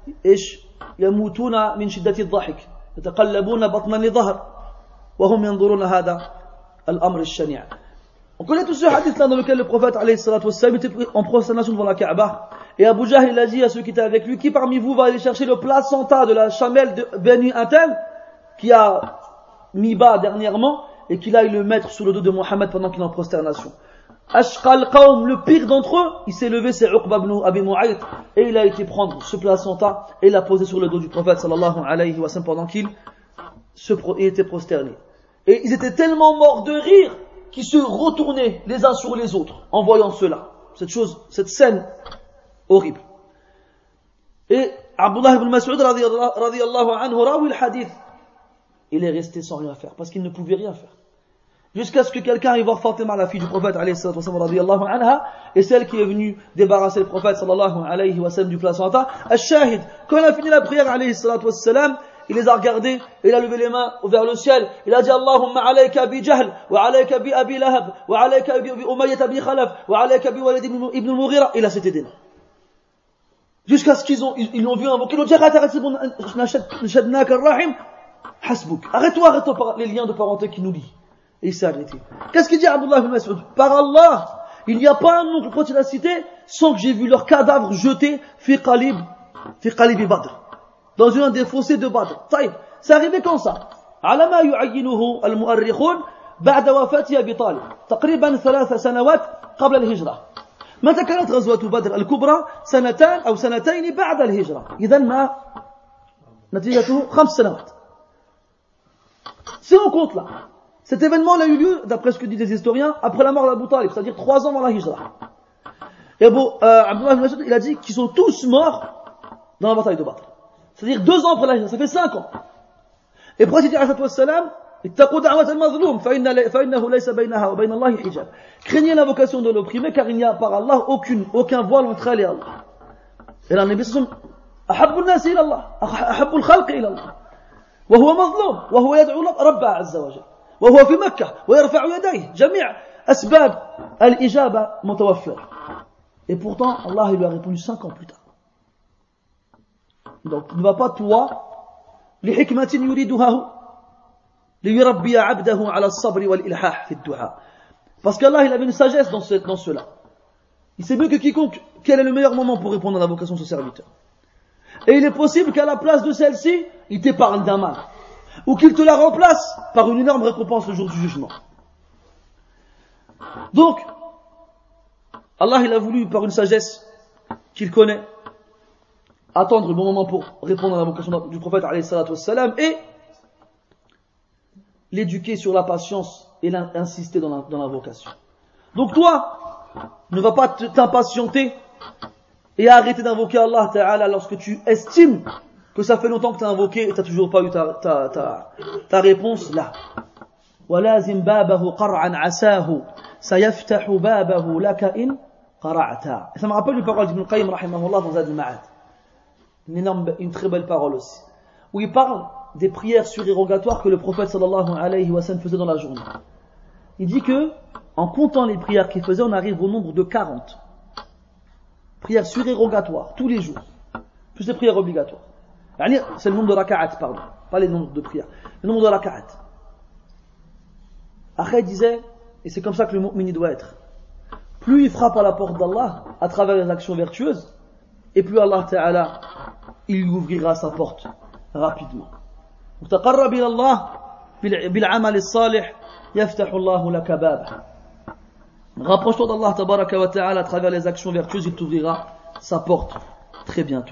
يموتون من شدة الضحك يتقلبون بطنا لظهر وهم ينظرون هذا الأمر الشنيع. On connaît tous ce hadith là dans lequel le prophète alayhi salatu wassalam était en prosternation devant la Kaaba Et Abu Jahl, il a dit à ceux qui étaient avec lui, qui parmi vous va aller chercher le placenta de la chamelle de Beni Intel, qui a mis bas dernièrement, et qu'il aille le mettre sous le dos de Mohammed pendant qu'il est en prosternation. Ashqal Qawm, le pire d'entre eux, il s'est levé, c'est Uqba ibn Abi Mu'ayt, et il a été prendre ce placenta, et l'a posé sur le dos du prophète sallallahu alayhi wa sallam pendant qu'il était prosterné. Et ils étaient tellement morts de rire, qu'ils se retournaient les uns sur les autres, en voyant cela. Cette scène horrible. Et Abdullah ibn Mas'ud radiyallahu anhu rawi le hadith. Il est resté sans rien faire, parce qu'il ne pouvait rien faire. Jusqu'à ce que quelqu'un aille voir Fatima, la fille du prophète radiyallahu anha, et celle qui est venue débarrasser le prophète sallallahu alayhi wa sallam du placenta. Al-Shahid, quand il a fini la prière alayhi salatu wassalam, il les a regardés, il a levé les mains vers le ciel, il a dit Allahumma alayka bi Jahl, wa alayka bi Abi Lahab, wa alayka bi Umayyah bi Khalaf, wa alayka bi Walid ibn al-Mughira, il a cité des noms. Jusqu'à ce ils l'ont vu invoquer, ils ont dit arrête, c'est bon, nashadnaka ar-rahim, hasbuk. Arrête-toi les liens de parenté qui nous lient. Et il s'est arrêté. Qu'est-ce qu'il dit Abdullah ibn Mas'ud? Par Allah, il n'y a pas un nom que quand il a cité, sans que j'ai vu leur cadavre jeté, fi qalib Badr. Dans un des fossés de Badr. C'est arrivé quand ça? على ما يعينه المؤرخون بعد وفاة أبي طالب تقريبا 3 سنوات قبل الهجرة. متى كانت غزوة بدر الكبرى؟ 2 أو 2 بعد الهجرة. إذن ما نتيجته 5 سنوات. Si on compte là, cet événement a eu lieu, d'après ce que disent les historiens, après la mort d'Abu Talib, c'est-à-dire 3 ans avant la hijra. Et Abdullah ibn Mas'ud, il a dit qu'ils sont tous morts dans la bataille de Badr. C'est-à-dire 2 ans après la hijra, ça fait 5 ans. Et pour il dit alayhi wassalam, ittaqu da'wat al-mazlum, fa'innahu laysa baynaha wa bayna Allah hijab. Craignez l'invocation de l'opprimé, car il n'y a par Allah aucun voile entre elle et Allah. Et là, le Nabi sallallahu alayhi wa sallam, ahabbu an-nas ila Allah, ahabbu al-khalq ila Allah. وهو مظلوم وهو يدعو ربه عز وجل وهو في مكة ويرفع يديه جميع أسباب الإجابة متوفرة. Et pourtant Allah il lui a répondu 5 ans plus tard. Donc ne va pas toi لحكمة يريدها ليربي عبده على الصبر والإلحاح في الدعاء. Parce qu'Allah il avait une sagesse dans cela. Il sait mieux que quiconque quel est le meilleur moment pour répondre à l'invocation de ce serviteur. Et il est possible qu'à la place de celle-ci, il t'épargne d'un mal. Ou qu'il te la remplace par une énorme récompense le jour du jugement. Donc, Allah il a voulu, par une sagesse qu'il connaît, attendre le bon moment pour répondre à l'invocation du prophète alayhi salatu wassalam, et l'éduquer sur la patience et insister dans l'invocation. Donc toi, ne va pas t'impatienter et arrêter d'invoquer Allah Ta'ala lorsque tu estimes que ça fait longtemps que tu as invoqué et tu n'as toujours pas eu ta réponse là. وَلَازِمْ بَابَهُ قَرْعًا عَسَاهُ سَيَفْتَحُ بَابَهُ لَكَ إِنْ قَرَعْتَا. Et ça me rappelle une parole d'Ibn Qayyim rahimahullah dans Zad al-Ma'ad. Une très belle parole aussi. Où il parle des prières surérogatoires que le prophète sallallahu alayhi wa sallam faisait dans la journée. Il dit que, en comptant les prières qu'il faisait, on arrive au nombre de 40. Prières surérogatoires, tous les jours. Plus les prières obligatoires. C'est le nombre de raka'at, pardon. Pas les nombres de prières. Le nombre de raka'at. Après, il disait, et c'est comme ça que le mu'min doit être. Plus il frappe à la porte d'Allah, à travers les actions vertueuses, et plus Allah Ta'ala, il lui ouvrira sa porte, rapidement. تقرب إلى الله بالعمل الصالح يفتح الله لك بابه. Rapproche-toi d'Allah tabaraka wa ta'ala à travers les actions vertueuses, il t'ouvrira sa porte très bientôt.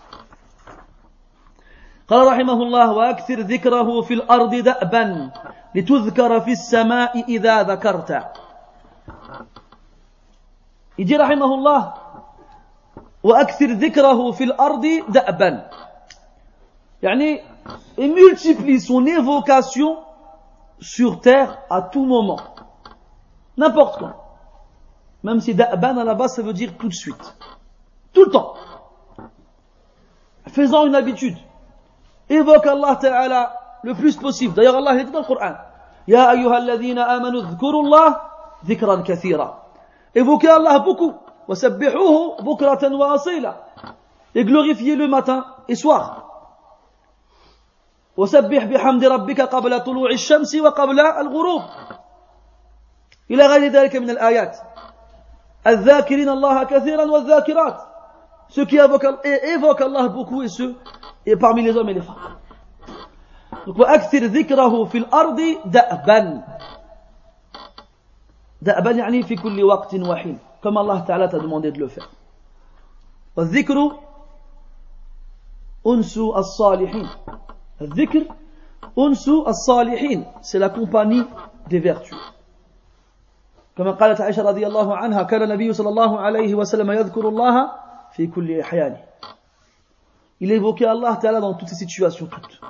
قال رحمه الله وأكثر ذكره في الأرض دأبا لتذكر في السماء إذا ذكرت. Il dit رحمه الله وأكثر ذكره في الأرض دأبا. يعني il multiplie son évocation sur terre à tout moment, n'importe quand. Même si da'ban à la base ça veut dire tout de suite, tout le temps. Faisant une habitude, évoque Allah Ta'ala le plus possible. D'ailleurs Allah il dit dans le Coran Ya ayyuhalladhina amanu dhkurullah dhikran kathira. Évoquez Allah beaucoup. Wasabbihuhu bukratan wa asila. Et glorifiez-le matin et soir. وسبح بحمد ربك قبل طلوع الشمس وقبل الغروب إلى غير ذلك من الآيات الذاكرين الله كثيرا والذاكرات ceux qui évoquent Allah beaucoup et parmi les hommes et les femmes. Donc, وَأَكْثِرْ ذِكْرَهُ فِي الْأَرْضِ دَأْبًا. دَأْبًا يعني في كل وقت وحين. Comme Allah Ta'ala t'a demandé de le faire. وَالذِّكْرُ أُنْسُ الصَّالِحِينَ. الذِّكْر أُنْسُ الصَّالِحِينَ. C'est la compagnie des vertus. كما قالت عائشة رضي الله عنها كان النبي صلى الله عليه وسلم يذكر الله في كل أحيانه. Il évoquait Allah Ta'ala dans toutes ces situations, toutes.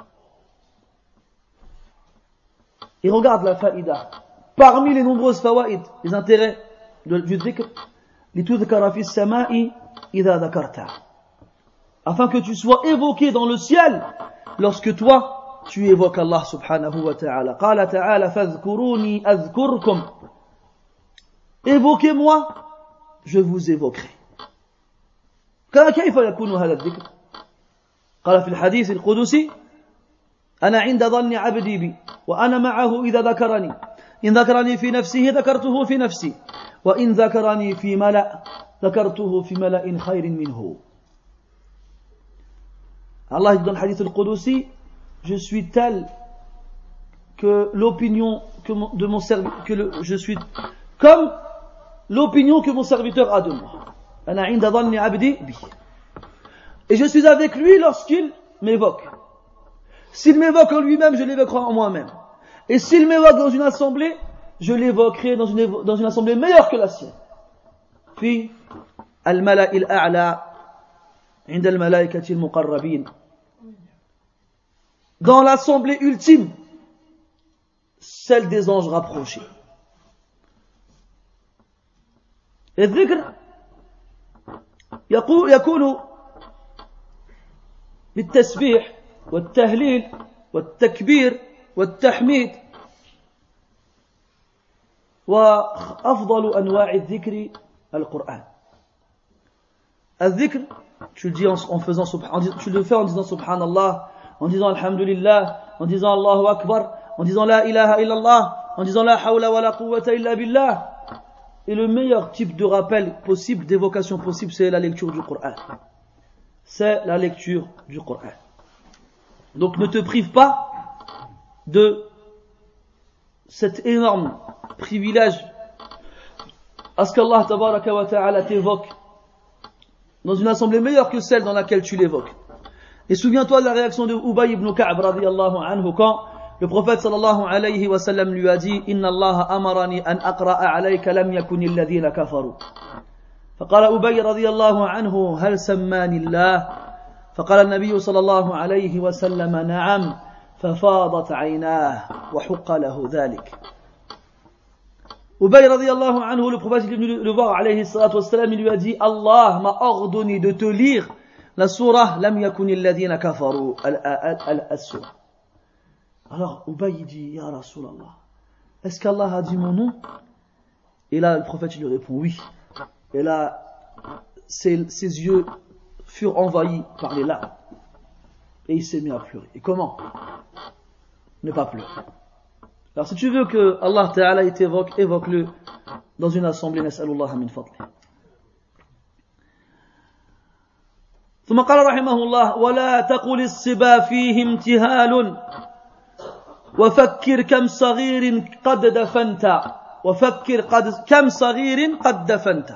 Et regarde la faïda. Parmi les nombreuses fawaïd, les intérêts du dhikr, لِتُذْكَرَ فِي السَّمَاءِ إِذَا ذَكَرْتَ. Afin que tu sois évoqué dans le ciel lorsque toi, tu évoques Allah subhanahu wa ta'ala. قال تعالى فاذكروني أذكركم. Évoquez-moi, je vous évoquerai. كيف يكون هذا الذكر؟ قال في الحديث القدسي أنا عند ظن عبدي بي وأنا معه إذا ذكرني إن ذكرني في نفسه ذكرته في نفسي وإن ذكرني في ملأ ذكرته في ملأ خير منه. Allah dit dans le hadith al-Qudusi, je suis tel que l'opinion de mon serviteur, je suis comme l'opinion que mon serviteur a de moi. أنا عند ظن عبدي بي. Et je suis avec lui lorsqu'il m'évoque. S'il m'évoque en lui-même, je l'évoquerai en moi-même. Et s'il m'évoque dans une assemblée, je l'évoquerai dans une assemblée meilleure que la sienne. Puis, al-mala'i al-a'la, عند الملائكة المقربين. Dans l'assemblée ultime, celle des anges rapprochés. الذكر يكون بالتسبيح والتهليل والتكبير والتحميد وأفضل أنواع الذكر القرآن. الذكر, tu le dis tu le fais en disant Subhanallah, en disant Alhamdulillah, en disant Allahu Akbar, en disant La ilaha illallah, en disant La hawla wa la quwwata illa billah. Et le meilleur type de rappel possible, d'évocation possible, c'est la lecture du Coran. C'est la lecture du Coran. Donc ne te prive pas de cet énorme privilège à ce qu'Allah tabaraka wa ta'ala t'évoque dans une assemblée meilleure que celle dans laquelle tu l'évoques. Et souviens-toi de la réaction de Ubay ibn Ka'b radiyallahu anhu quand le prophète sallallahu alayhi wa sallam lui a dit Inna Allah amarani an aqra'a alayka lam yakun alladhina kafaru. فقال أبي رضي الله عنه هل سماني الله فقال النبي صلى الله عليه وسلم نعم ففاضت عيناه وحق له ذلك. Ubay radiyallahu anhu, le prophète est venu le voir alayhi salatu wassalam, il lui a dit Allah m'a ordonné de te lire la surah lam yakuni alladhina kafaru al-surah. Alors Ubay dit Ya Rasulallah, est-ce qu'Allah a dit mon nom? Et là le prophète lui répond oui. Et là ses yeux furent envahis par les larmes et il s'est mis à pleurer. Et comment ne pas pleurer? Alors si tu veux que Allah Ta'ala t'évoque, évoque-le dans une assemblée. Nas'alullah min fadli. ثم قال رحمه الله ولا تقل الصبا فيه امتهال وفكر كم صغير قد دفنت وفكر كم صغير قد دفنت.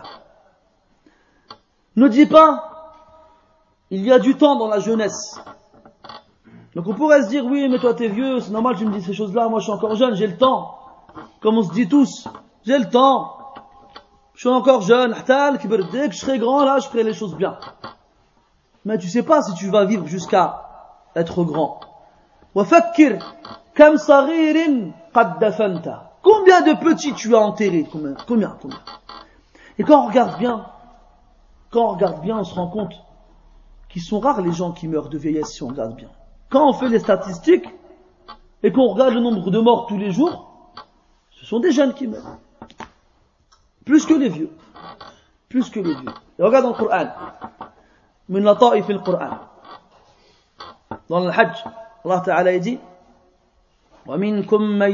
Ne dis pas, il y a du temps dans la jeunesse. Donc on pourrait se dire, oui, mais toi t'es vieux, c'est normal, tu me dis ces choses-là, moi je suis encore jeune, j'ai le temps. Comme on se dit tous, j'ai le temps. Je suis encore jeune, dès que je serai grand, là, je ferai les choses bien. Mais tu sais pas si tu vas vivre jusqu'à être grand. وَفَكِّرْ كَمْ صَغِيرٍ قَدْ دَفَنْتَ. Combien de petits tu as enterrés? Combien? Et quand on regarde bien, on se rend compte qu'ils sont rares les gens qui meurent de vieillesse si on regarde bien. Quand on fait les statistiques et qu'on regarde le nombre de morts tous les jours, ce sont des jeunes qui meurent. Plus que les vieux. Et regarde dans le Coran. Min lata'if al-Qur'an. Dans le Hajj, Allah Ta'ala dit وَمِنْكُمْ مَنْ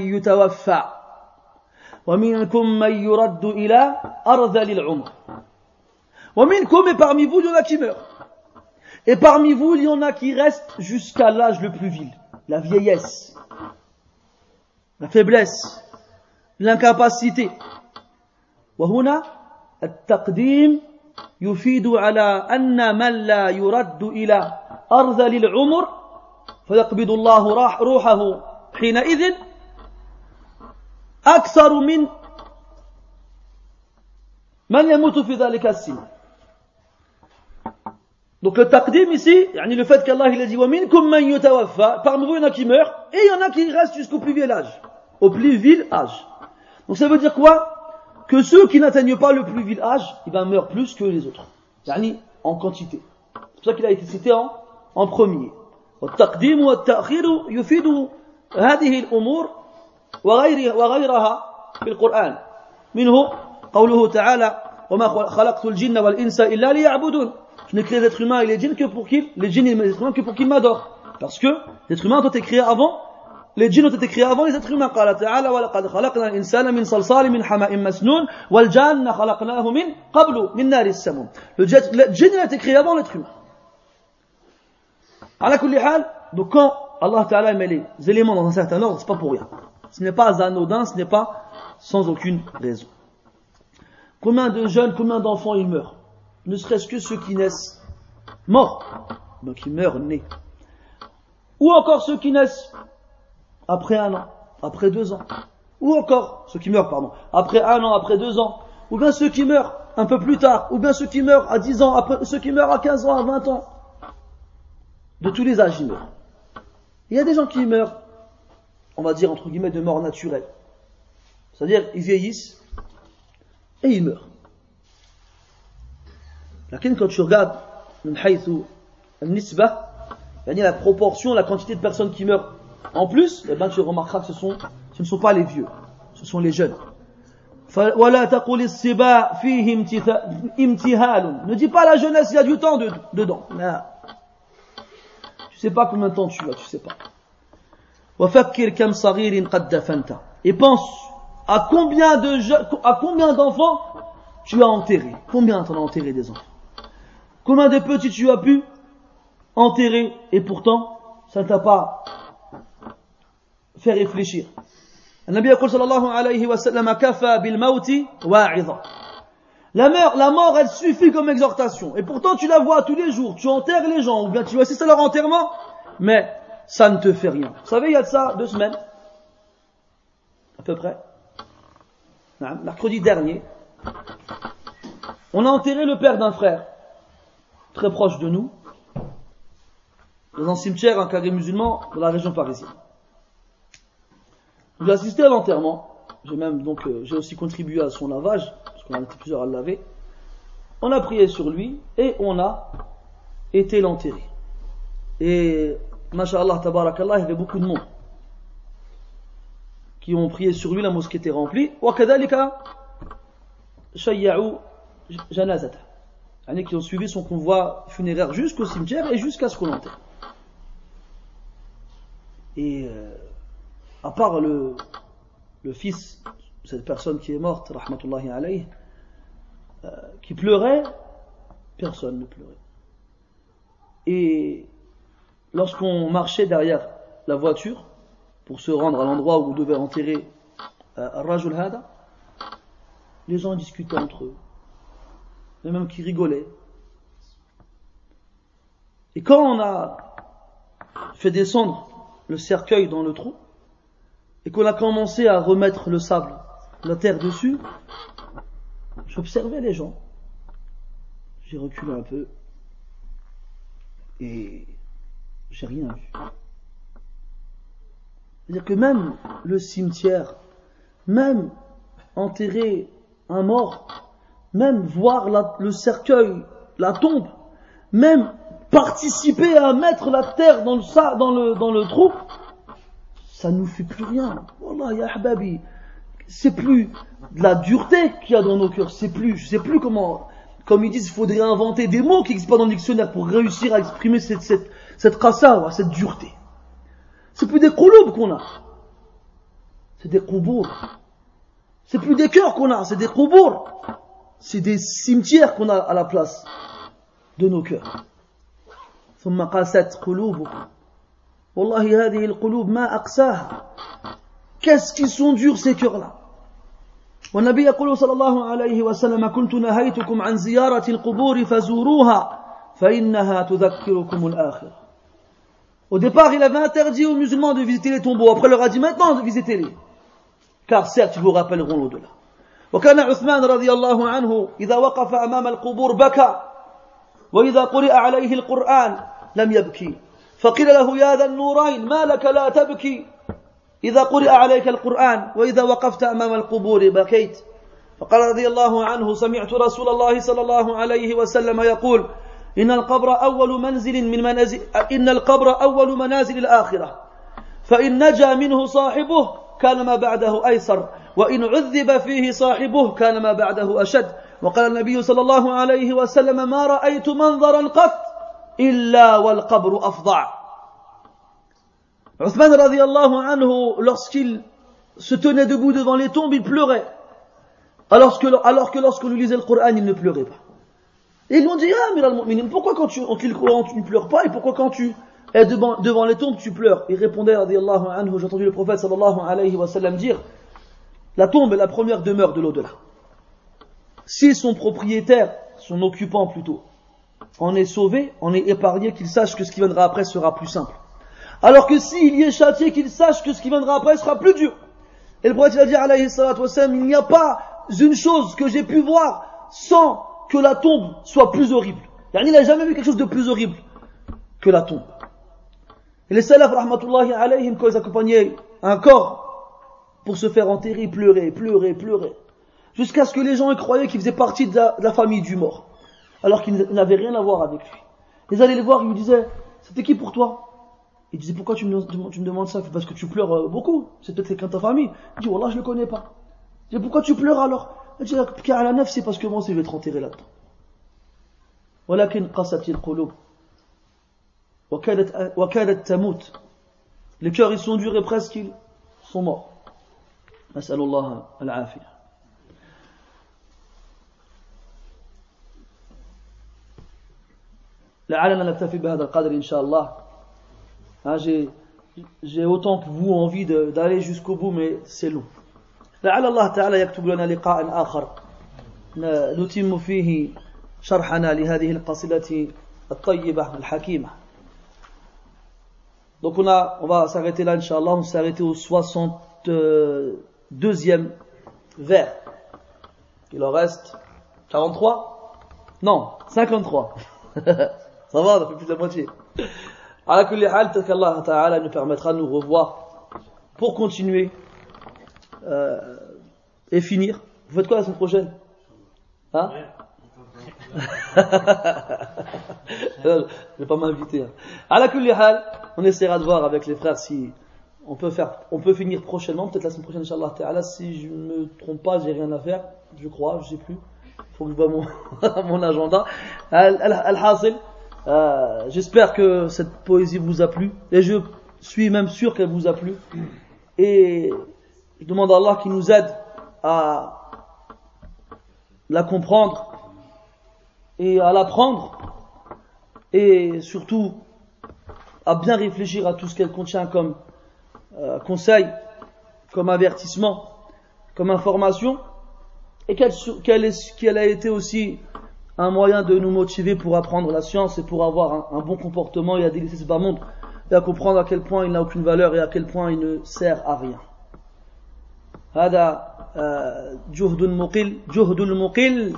يُتَوَفَّى وَمِنْكُمْ مَنْ يُرَدُّ إِلَى أَرْذَلِ الْعُمْرِ وَمِنْكُمْ, et parmi vous, il y en a qui meurent. Et parmi vous, il y en a qui restent jusqu'à l'âge le plus vil, la vieillesse, la faiblesse, l'incapacité. وهنا التقديم يفيد على أن من لا يرد إلى أرذل العمر فيقبض الله روحه حينئذ أكثر من يموت في ذلك السن. Donc le taqdim ici, le fait qu'Allah il a dit وَمِنْكُمْ مَنْ يُتَوَفَّى, parmi vous il y en a qui meurent, et il y en a qui restent jusqu'au plus vil âge, au plus vil âge. Donc ça veut dire quoi? Que ceux qui n'atteignent pas le plus vil âge, meurent plus que les autres, en quantité. C'est pour ça qu'il a été cité en premier. والتقديم والتأخير يفيد هذه الأمور وغيرها في القرآن. منه قوله تعالى وما خلقت الجن والإنس إلا ليعبدون. Je n'ai créé les êtres humains et les djinns que pour qu'ils m'adorent. Parce que les êtres humains ont été créés avant, les djinns ont été créés avant les êtres humains. قال تعالى ولقد خلقنا الإنسان من صلصال من حمأ مسنون والجان خلقناه من قبل من نار السموم. Le djinn a été créé avant l'être humain. على كل حال, donc quand Allah Ta'ala met les éléments dans un certain ordre, c'est pas pour rien. Ce n'est pas anodin, ce n'est pas sans aucune raison. Combien de jeunes, combien d'enfants ils meurent? Ne serait-ce que ceux qui naissent morts, donc ils meurent nés. Ou encore ceux qui naissent après 1 an, après 2 ans. Ou encore ceux qui meurent, après 1 an, après 2 ans. Ou bien ceux qui meurent un peu plus tard. Ou bien ceux qui meurent à 10 ans, après ceux qui meurent à 15 ans, à 20 ans. De tous les âges, ils meurent. Il y a des gens qui meurent, on va dire entre guillemets, de mort naturelle. C'est-à-dire, ils vieillissent et ils meurent. Quand tu regardes la proportion, la quantité de personnes qui meurent en plus, tu remarqueras que ce ne sont pas les vieux, ce sont les jeunes. Ne dis pas la jeunesse, il y a du temps dedans. Tu sais pas combien de temps tu as, tu sais pas. Et pense à combien d'enfants tu as enterré. Combien t'en as enterré des enfants? Combien de petits tu as pu enterrer et pourtant ça ne t'a pas fait réfléchir. النبي يقول صلى الله عليه وسلم كفى بالموت واعظا. La mort, elle suffit comme exhortation. Et pourtant, tu la vois tous les jours. Tu enterres les gens, ou bien tu assistes à leur enterrement, mais ça ne te fait rien. Vous savez, il y a de ça 2 semaines, à peu près, mercredi dernier, on a enterré le père d'un frère, très proche de nous, dans un cimetière, un carré musulman, dans la région parisienne. J'ai assisté à l'enterrement. J'ai aussi contribué à son lavage, parce qu'on a été plusieurs à le laver. On a prié sur lui, et on a été l'enterrer. Et, masha'Allah, tabarakallah, il y avait beaucoup de monde qui ont prié sur lui, la mosquée était remplie. Wa kadhalika shayya'u janazata. Qui ont suivi son convoi funéraire jusqu'au cimetière et jusqu'à ce qu'on l'enterre. Et, à part le fils de cette personne qui est morte, rahmatullahi alayhi, qui pleurait, personne ne pleurait. Et lorsqu'on marchait derrière la voiture pour se rendre à l'endroit où on devait enterrer Rajul Hada, les gens discutaient entre eux, et même qui rigolaient. Et quand on a fait descendre le cercueil dans le trou, et qu'on a commencé à remettre le sable, la terre dessus, j'observais les gens. J'ai reculé un peu et j'ai rien vu. C'est-à-dire que même le cimetière, même enterrer un mort, même voir le cercueil, la tombe, même participer à mettre la terre dans le trou, ça nous fait plus rien. Wallah, ya ahbabi, c'est plus de la dureté qu'il y a dans nos cœurs, je sais plus comment, comme ils disent, il faudrait inventer des mots qui n'existent pas dans le dictionnaire pour réussir à exprimer cette qassawa, cette dureté. C'est plus des qouloub qu'on a. C'est des qoubour. C'est plus des cœurs qu'on a, c'est des qoubour. c'est des cimetières qu'on a à la place de nos cœurs. ثم قاست قلوبكم والله هذه القلوب ما أقساها. Qu'est-ce qu'ils sont durs ces cœurs-là. والنبي يقول صلى الله عليه وسلم كنت نهيتكم عن زيارة القبور فزوروها فإنها تذكركم الآخرة. Au départ, il avait interdit aux musulmans de visiter les tombeaux. Après, il leur a dit maintenant visitez-les. Car certes, ils vous rappelleront l'au-delà. وكان عثمان رضي الله عنه إذا وقف أمام القبور بكى وإذا قرئ عليه القرآن لم يبكي فقيل له يا ذا النورين ما لك لا تبكي إذا قرئ عليك القرآن وإذا وقفت أمام القبور بكيت فقال رضي الله عنه سمعت رسول الله صلى الله عليه وسلم يقول إن القبر أول منازل الآخرة فإن نجا منه صاحبه كان ما بعده أيسر وإن عذب فيه صاحبه كان ما بعده أشد وقال النبي صلى الله عليه وسلم ما رأيت منظرا قط إلا والقبر أفظع. Uthman radiyallahu anhu, lorsqu'il se tenait debout devant les tombes, il pleurait. Alors que lorsqu'on lui lisait le Coran, il ne pleurait pas. Et ils lui ont dit, ah, Amir al-Mu'minin, pourquoi quand tu lis le Coran, tu ne pleures pas, et pourquoi quand tu es devant les tombes, tu pleures? Il répondait, radiyallahu anhu, j'ai entendu le prophète sallallahu alayhi wa sallam dire, la tombe est la première demeure de l'au-delà. Si son propriétaire, son occupant plutôt, en est sauvé, en est épargné, qu'il sache que ce qui viendra après sera plus simple. Alors que s'il y est châtié, qu'il sache que ce qui viendra après sera plus dur. Et le prophète il a dit, alayhi salatu wassalam, il n'y a pas une chose que j'ai pu voir sans que la tombe soit plus horrible. Il n'a jamais vu quelque chose de plus horrible que la tombe. Et les salaf, rahmatullahi alayhim, quand ils accompagnaient un corps pour se faire enterrer, ils pleuraient. Jusqu'à ce que les gens croyaient qu'il faisait partie de la famille du mort. Alors qu'il n'avait rien à voir avec lui. Ils allaient le voir, ils lui disaient, c'était qui pour toi? Il disait, pourquoi tu me demandes ça? Parce que tu pleures beaucoup. C'est peut-être quelqu'un de ta famille. Il dit, wallah, je le connais pas. Il dit, pourquoi tu pleures alors? Il dit, car à la neuf, c'est parce que moi aussi je vais te enterrer là-dedans. ولكن قست القلوب وكادت تموت. Les cœurs, ils sont durs et presque ils sont morts. نسأل الله العافية. لعلنا نكتفي بهذا القدر إن شاء الله. J'ai autant que vous envie d'aller jusqu'au bout, mais c'est long. لعل الله تعالى يكتب لنا لقاء آخر نتم فيه شرحنا لهذه القصيدة الطيبة الحكيمة. Donc on va s'arrêter là, Inch'Allah. On s'est arrêté au 62e vers. Il en reste 43? Non, 53. Ça va, on a fait plus de la moitié. À kulli hal, peut-être qu'Allah Ta'ala nous permettra de nous revoir pour continuer et finir. Vous faites quoi la semaine prochaine? Hein? Je vais pas m'inviter. À la kulli hal, on essaiera de voir avec les frères si on peut finir prochainement, peut-être la semaine prochaine, Inch'Allah Ta'ala. Si je ne me trompe pas, j'ai rien à faire, je crois, je sais plus. Faut que je vois mon agenda. Al-Hasil. J'espère que cette poésie vous a plu et je suis même sûr qu'elle vous a plu et je demande à Allah qu'il nous aide à la comprendre et à l'apprendre et surtout à bien réfléchir à tout ce qu'elle contient comme conseil, comme avertissement, comme information et qu'elle a été aussi un moyen de nous motiver pour apprendre la science et pour avoir un bon comportement et à délaisser ce bas monde et à comprendre à quel point il n'a aucune valeur et à quel point il ne sert à rien. هذا جهد المقل.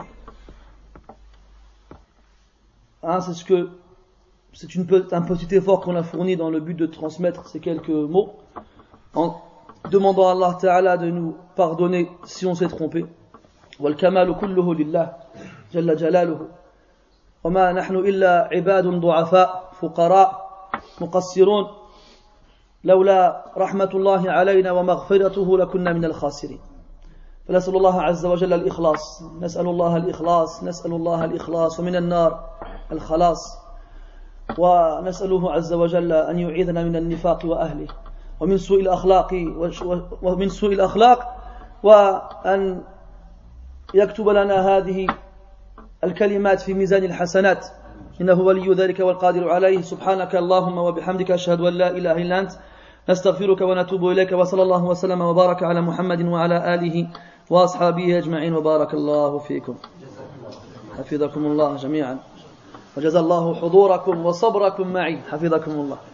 C'est un petit effort qu'on a fourni dans le but de transmettre ces quelques mots en demandant à Allah Ta'ala de nous pardonner si on s'est trompé. والكمال كله لله جل جلاله وما نحن إلا عباد ضعفاء فقراء مقصرون لولا رحمة الله علينا ومغفرته لكنا من الخاسرين فنسأل الله عز وجل الإخلاص نسأل الله الإخلاص ومن النار الخلاص ونسأله عز وجل أن يعيذنا من النفاق وأهله ومن سوء الأخلاق وأن يكتب لنا هذه الكلمات في ميزان الحسنات إنه ولي ذلك والقادر عليه. سبحانك اللهم وبحمدك أشهد أن لا إله إلا أنت نستغفرك ونتوب إليك. وصلى الله وسلم وبارك على محمد وعلى آله وأصحابه أجمعين وبارك الله فيكم. حفظكم الله جميعا وجزا الله حضوركم وصبركم معي. حفظكم الله.